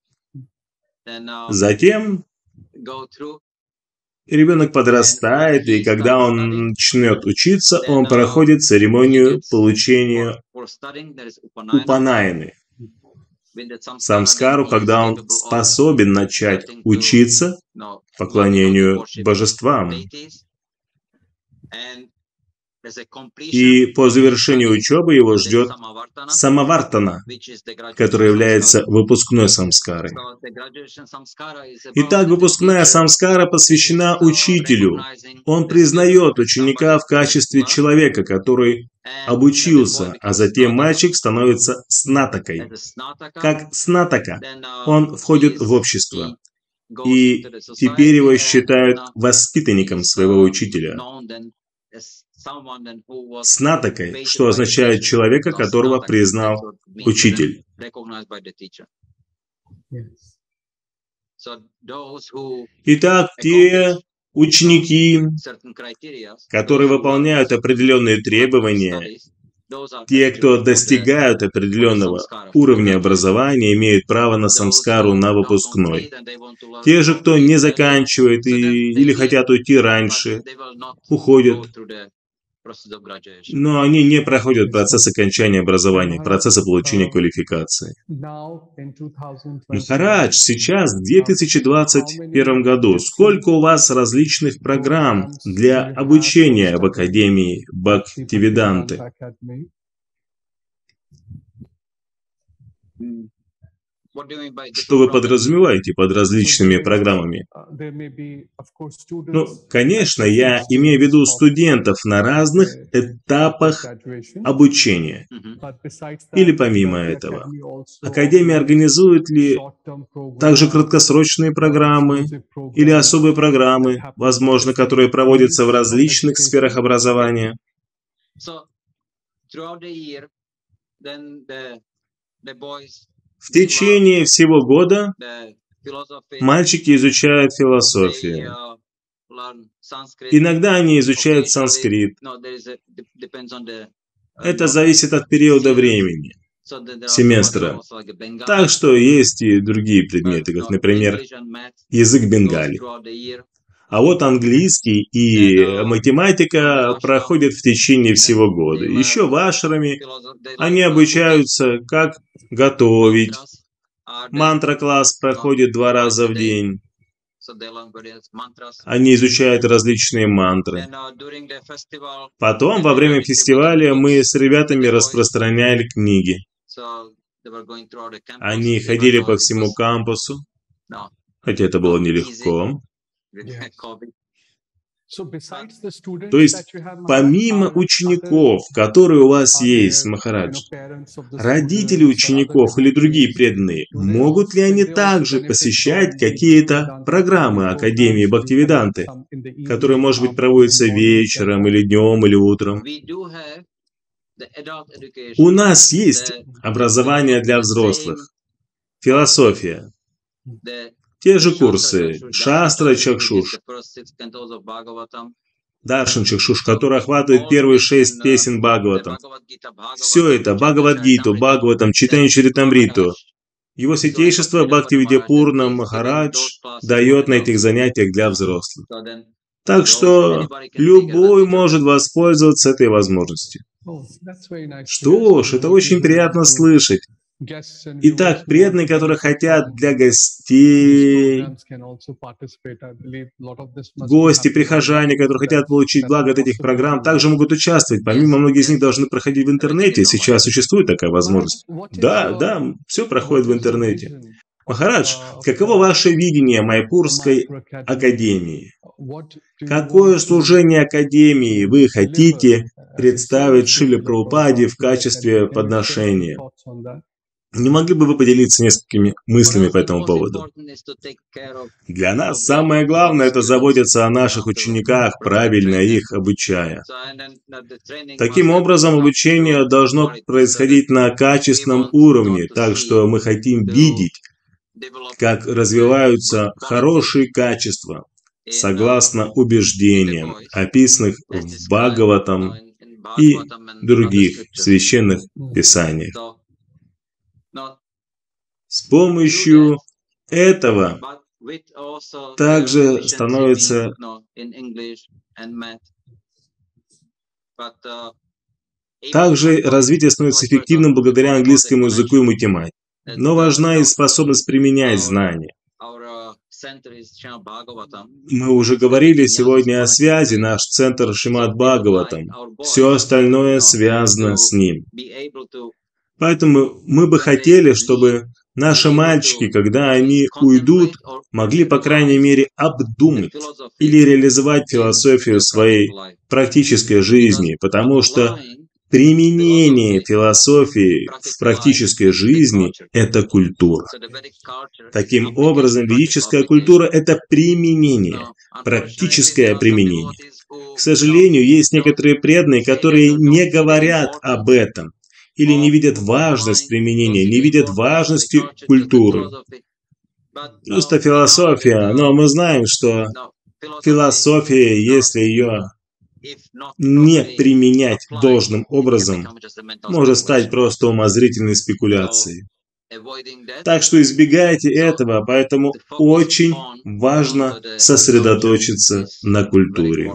Затем ребенок подрастает, и когда он начнет учиться, он проходит церемонию получения упанайны. Самскару, когда он способен начать учиться поклонению божествам. И по завершению учебы его ждет самавартана, который является выпускной самскарой. Итак, выпускная самскара посвящена учителю. Он признает ученика в качестве человека, который обучился, а затем мальчик становится снатакой. Как снатака, он входит в общество. И теперь его считают воспитанником своего учителя. Снатакой, что означает человека, которого признал учитель. Итак, те ученики, которые выполняют определенные требования, те, кто достигают определенного уровня образования, имеют право на самскару на выпускной. Те же, кто не заканчивает и, или хотят уйти раньше, уходят. Но они не проходят процесс окончания образования, процесса получения квалификации. Махарадж, сейчас, в две тысячи двадцать первом году, сколько у вас различных программ для обучения в Академии Бхактивиданты? Что вы подразумеваете под различными программами? Ну, конечно, я имею в виду студентов на разных этапах обучения. Или помимо этого, Академия организует ли также краткосрочные программы или особые программы, возможно, которые проводятся в различных сферах образования? В течение всего года мальчики изучают философию. Иногда они изучают санскрит. Это зависит от периода времени, семестра. Так что есть и другие предметы, как, например, язык бенгали. А вот английский и математика проходят в течение всего года. Еще в ашраме они обучаются, как готовить. Мантра-класс проходит два раза в день. Они изучают различные мантры. Потом, во время фестиваля, мы с ребятами распространяли книги. Они ходили по всему кампусу, хотя это было нелегко. То есть, помимо учеников, которые у вас есть, Махарадж, родители учеников или другие преданные, могут ли они также посещать какие-то программы Академии Бхактивиданты, которые, может быть, проводятся вечером или днем или утром? У нас есть образование для взрослых, философия. Те же курсы Шастра Чакшуш, Даршан Чакшуш, который охватывает первые шесть песен Бхагаватам. Все это, Бхагавад-гиту, Бхагаватам, Чайтанья Чаритамриту. Его святейшество Бхактивидьяпурна Махарадж дает на этих занятиях для взрослых. Так что любой может воспользоваться этой возможностью. Что ж, это очень приятно слышать. Итак, преданные, которые хотят для гостей, гости, прихожане, которые хотят получить благо от этих программ, также могут участвовать. Помимо, многие из них должны проходить в интернете. Сейчас существует такая возможность. Да, да, все проходит в интернете. Махарадж, каково ваше видение Майпурской академии? Какое служение академии вы хотите представить Шриле Прабхупаде в качестве подношения? Не могли бы вы поделиться несколькими мыслями по этому поводу? Для нас самое главное – это заботиться о наших учениках, правильно их обучая. Таким образом, обучение должно происходить на качественном уровне, так что мы хотим видеть, как развиваются хорошие качества, согласно убеждениям, описанных в Бхагаватам и других священных писаниях. С помощью этого также становится также развитие становится эффективным благодаря английскому языку и математике. Но важна и способность применять знания. Мы уже говорили сегодня о связи, наш центр Шримад Бхагаватам. Все остальное связано с ним. Поэтому мы бы хотели, чтобы наши мальчики, когда они уйдут, могли, по крайней мере, обдумать или реализовать философию своей практической жизни, потому что применение философии в практической жизни – это культура. Таким образом, ведическая культура – это применение, практическое применение. К сожалению, есть некоторые преданные, которые не говорят об этом, или не видят важность применения, не видят важности культуры. Просто философия, но мы знаем, что философия, если ее не применять должным образом, может стать просто умозрительной спекуляцией. Так что избегайте этого, поэтому очень важно сосредоточиться на культуре.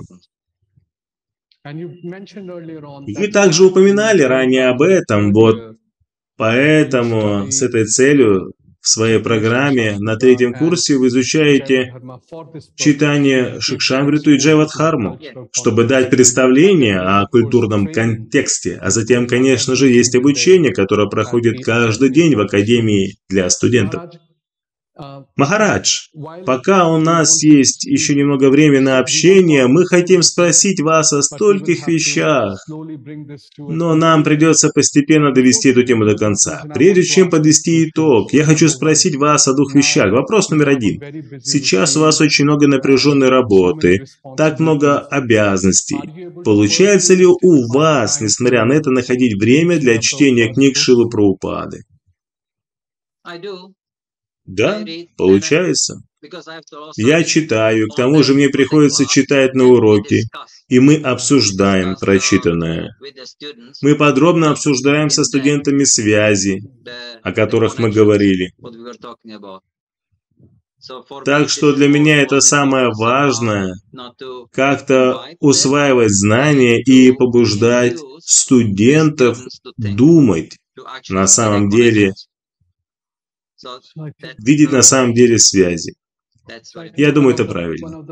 Вы также упоминали ранее об этом, вот поэтому с этой целью в своей программе на третьем курсе вы изучаете читание Шикшамриту и Джайвадхарму, чтобы дать представление о культурном контексте. А затем, конечно же, есть обучение, которое проходит каждый день в Академии для студентов. Махарадж, пока у нас есть еще немного времени на общение, мы хотим спросить вас о стольких вещах, но нам придется постепенно довести эту тему до конца. Прежде чем подвести итог, я хочу спросить вас о двух вещах. Вопрос номер один. Сейчас у вас очень много напряженной работы, так много обязанностей. Получается ли у вас, несмотря на это, находить время для чтения книг Шрилы Прабхупады? Да, получается. Я читаю, к тому же мне приходится читать на уроке, и мы обсуждаем прочитанное. Мы подробно обсуждаем со студентами связи, о которых мы говорили. Так что для меня это самое важное, как-то усваивать знания и побуждать студентов думать на самом деле, видеть на самом деле связи. Я думаю, это правильно.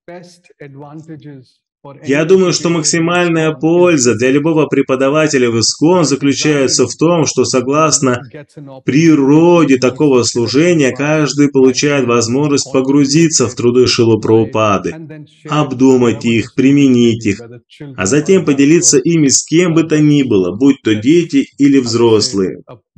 Я думаю, что максимальная польза для любого преподавателя в ИСККОН заключается в том, что согласно природе такого служения, каждый получает возможность погрузиться в труды Шрилы Прабхупады, обдумать их, применить их, а затем поделиться ими с кем бы то ни было, будь то дети или взрослые.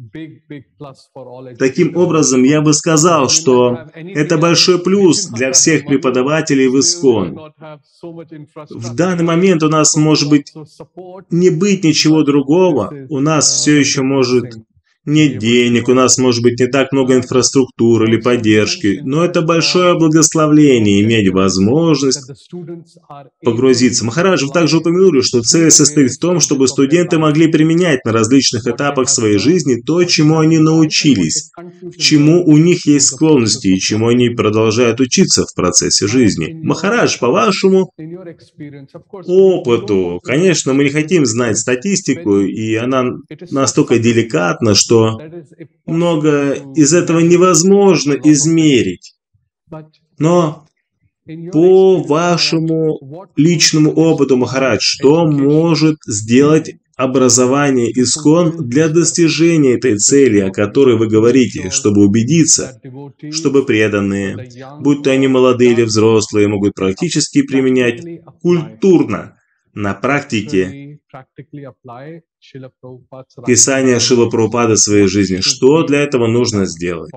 Таким образом, я бы сказал, что это большой плюс для всех преподавателей в ИСККОН. В данный момент у нас может быть не быть ничего другого, у нас все еще может нет денег, у нас может быть не так много инфраструктуры или поддержки, но это большое благословение иметь возможность погрузиться. Махарадж, вы также упомянули, что цель состоит в том, чтобы студенты могли применять на различных этапах своей жизни то, чему они научились, к чему у них есть склонности и чему они продолжают учиться в процессе жизни. Махарадж, по вашему опыту, конечно, мы не хотим знать статистику, и она настолько деликатна, что что много из этого невозможно измерить. Но по вашему личному опыту, Махарадж, что может сделать образование ИСККОН для достижения этой цели, о которой вы говорите, чтобы убедиться, чтобы преданные, будь то они молодые или взрослые, могут практически применять культурно на практике писание Шрилы Прабхупады в своей жизни. Что для этого нужно сделать?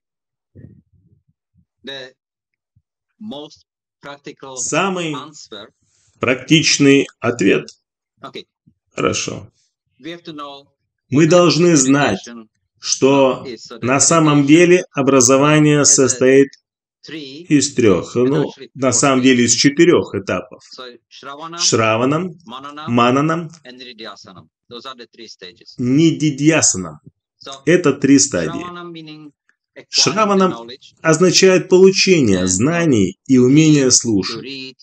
Самый практичный ответ. Хорошо. Мы должны знать, что на самом деле образование состоит из трех, ну, на самом деле из четырех этапов. Шраванам, Мананам, Нидидьясанам. Это три стадии. Шраванам означает получение знаний и умение слушать.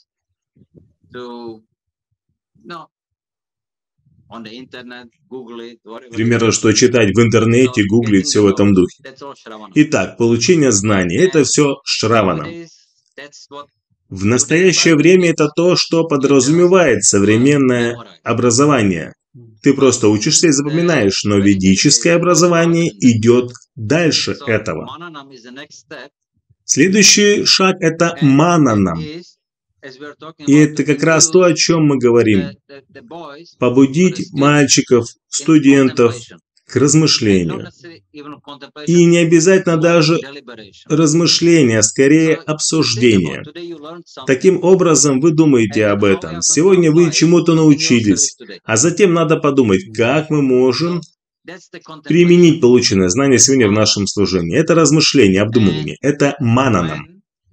Примерно, что читать в интернете, гуглить, все в этом духе. Итак, получение знаний – это все шраванам. В настоящее время это то, что подразумевает современное образование. Ты просто учишься и запоминаешь, но ведическое образование идет дальше этого. Следующий шаг – это мананам. И это как раз то, о чем мы говорим. Побудить мальчиков, студентов к размышлению. И не обязательно даже размышления, а скорее обсуждение. Таким образом, вы думаете об этом. Сегодня вы чему-то научились, а затем надо подумать, как мы можем применить полученное знание сегодня в нашем служении. Это размышление, обдумывание. Это мананам.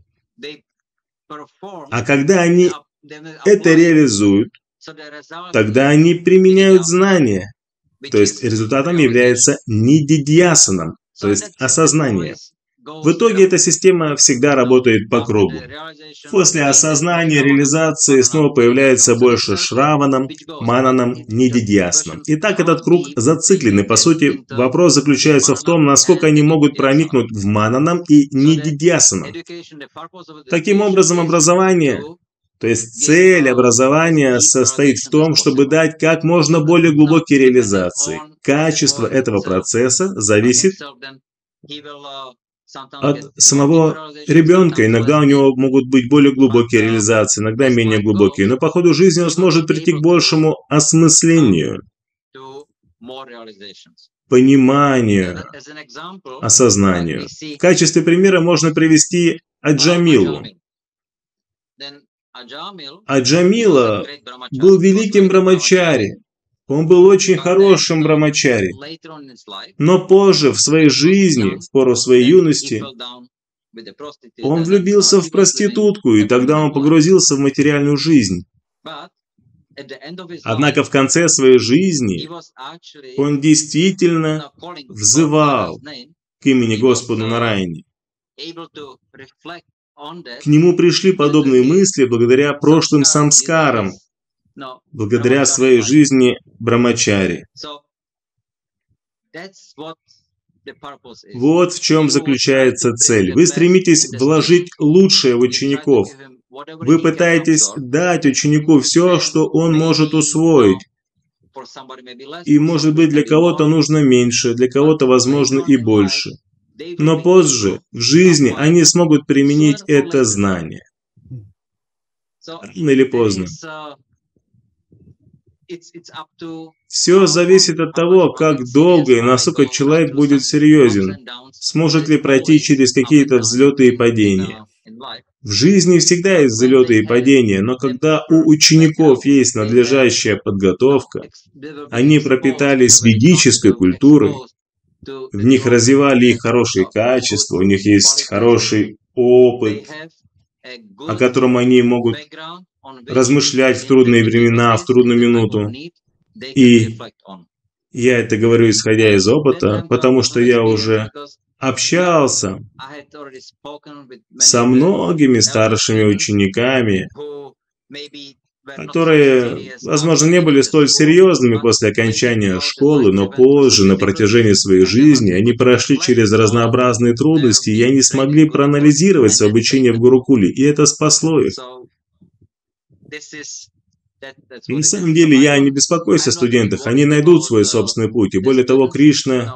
А когда они это реализуют, тогда они применяют знания. То есть результатом является нидидьясанам, то есть осознание. В итоге эта система всегда работает по кругу. После осознания реализации снова появляется больше шраванам, мананам, нидидьяснам. И так этот круг зациклен. И по сути вопрос заключается в том, насколько они могут проникнуть в мананам и нидидьясанам. Таким образом, образование, то есть цель образования состоит в том, чтобы дать как можно более глубокие реализации. Качество этого процесса зависит от самого ребенка. Иногда у него могут быть более глубокие реализации, иногда менее глубокие. Но по ходу жизни он сможет прийти к большему осмыслению, пониманию, осознанию. В качестве примера можно привести Аджамилу. Аджамила был великим брамачари. Он был очень хорошим брамачари. Но позже в своей жизни, в пору своей юности, он влюбился в проститутку, и тогда он погрузился в материальную жизнь. Однако в конце своей жизни он действительно взывал к имени Господу Нараяне. К нему пришли подобные мысли благодаря прошлым самскарам, благодаря своей жизни брамачари. Вот в чем заключается цель. Вы стремитесь вложить лучшее в учеников. Вы пытаетесь дать ученику все, что он может усвоить. И, может быть, для кого-то нужно меньше, для кого-то, возможно, и больше. Но позже, в жизни, они смогут применить это знание. Рано или поздно. Все зависит от того, как долго и насколько человек будет серьезен, сможет ли пройти через какие-то взлеты и падения. В жизни всегда есть взлеты и падения, но когда у учеников есть надлежащая подготовка, они пропитались ведической культурой, в них развивали их хорошие качества, у них есть хороший опыт, о котором они могут размышлять в трудные времена, в трудную минуту. И я это говорю, исходя из опыта, потому что я уже общался со многими старшими учениками, которые, возможно, не были столь серьезными после окончания школы, но позже, на протяжении своей жизни, они прошли через разнообразные трудности, и они смогли проанализировать свое обучение в Гурукуле, и это спасло их. И на самом деле я не беспокоюсь о студентах, они найдут свой собственный путь, и более того, Кришна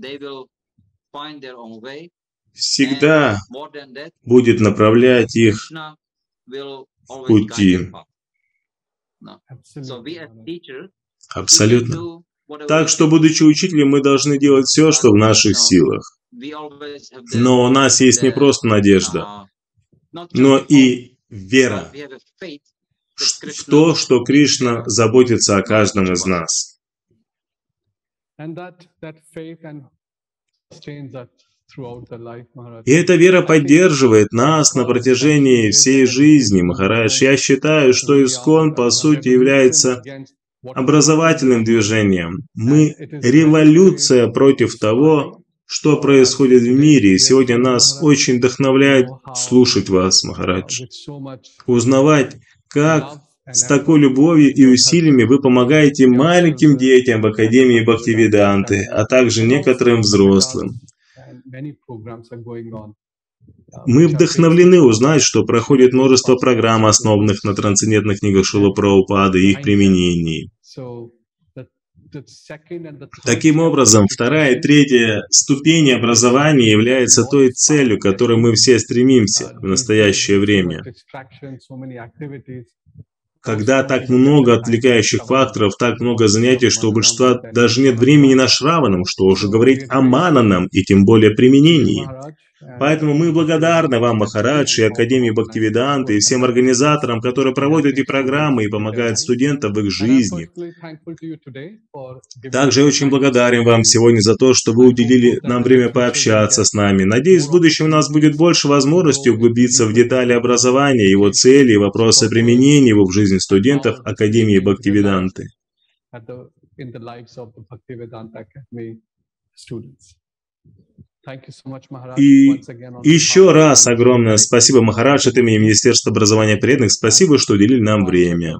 всегда будет направлять их в пути. Абсолютно. Так что, будучи учителем, мы должны делать все, что в наших силах. Но у нас есть не просто надежда, но и вера в то, что Кришна заботится о каждом из нас. И эта вера поддерживает нас на протяжении всей жизни, Махарадж. Я считаю, что Искон, по сути, является образовательным движением. Мы революция против того, что происходит в мире. И сегодня нас очень вдохновляет слушать вас, Махарадж. Узнавать, как с такой любовью и усилиями вы помогаете маленьким детям в Академии Бхактивиданты, а также некоторым взрослым. Мы вдохновлены узнать, что проходит множество программ, основанных на трансцендентных книгах Шрилы Прабхупады и их применении. Таким образом, вторая и третья ступени образования является той целью, к которой мы все стремимся в настоящее время. Когда так много отвлекающих факторов, так много занятий, что у большинства даже нет времени на шраванам, что уже говорить о мананам и тем более применении. Поэтому мы благодарны вам, Махарадж, и Академии Бхактивиданты, и всем организаторам, которые проводят эти программы и помогают студентам в их жизни. Также я очень благодарен вам сегодня за то, что вы уделили нам время пообщаться с нами. Надеюсь, в будущем у нас будет больше возможностей углубиться в детали образования, его цели и вопросы применения его в жизни студентов Академии Бхактивиданты. И еще раз огромное спасибо, Махарадж, от имени Министерства образования преданных. Спасибо, что уделили нам время.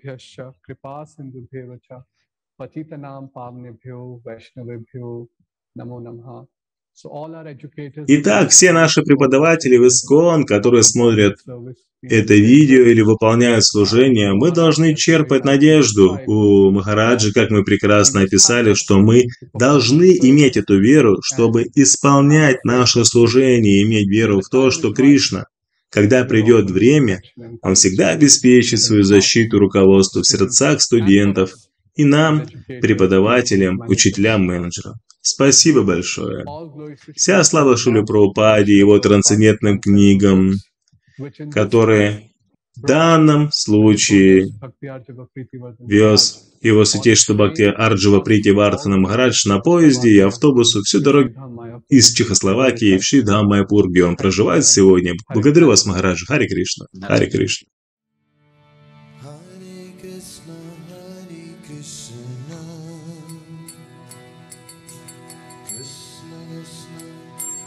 Итак, все наши преподаватели в ИСККОН, которые смотрят это видео или выполняют служение, мы должны черпать надежду у Махараджи, как мы прекрасно описали, что мы должны иметь эту веру, чтобы исполнять наше служение, иметь веру в то, что Кришна, когда придет время, Он всегда обеспечит свою защиту руководству в сердцах студентов и нам, преподавателям, учителям, менеджерам. Спасибо большое. Вся слава Шриле Прабхупаде и его трансцендентным книгам, которые в данном случае вез его святейшество Бхакти Арджава Прити Вардхана Махарадж на поезде и автобусу всю дорогу из Чехословакии в Шри Дхам Майяпур, где он проживает сегодня. Благодарю вас, Махараджа. Харе Кришна. Харе Кришна.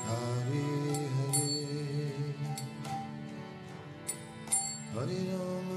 Hare Rama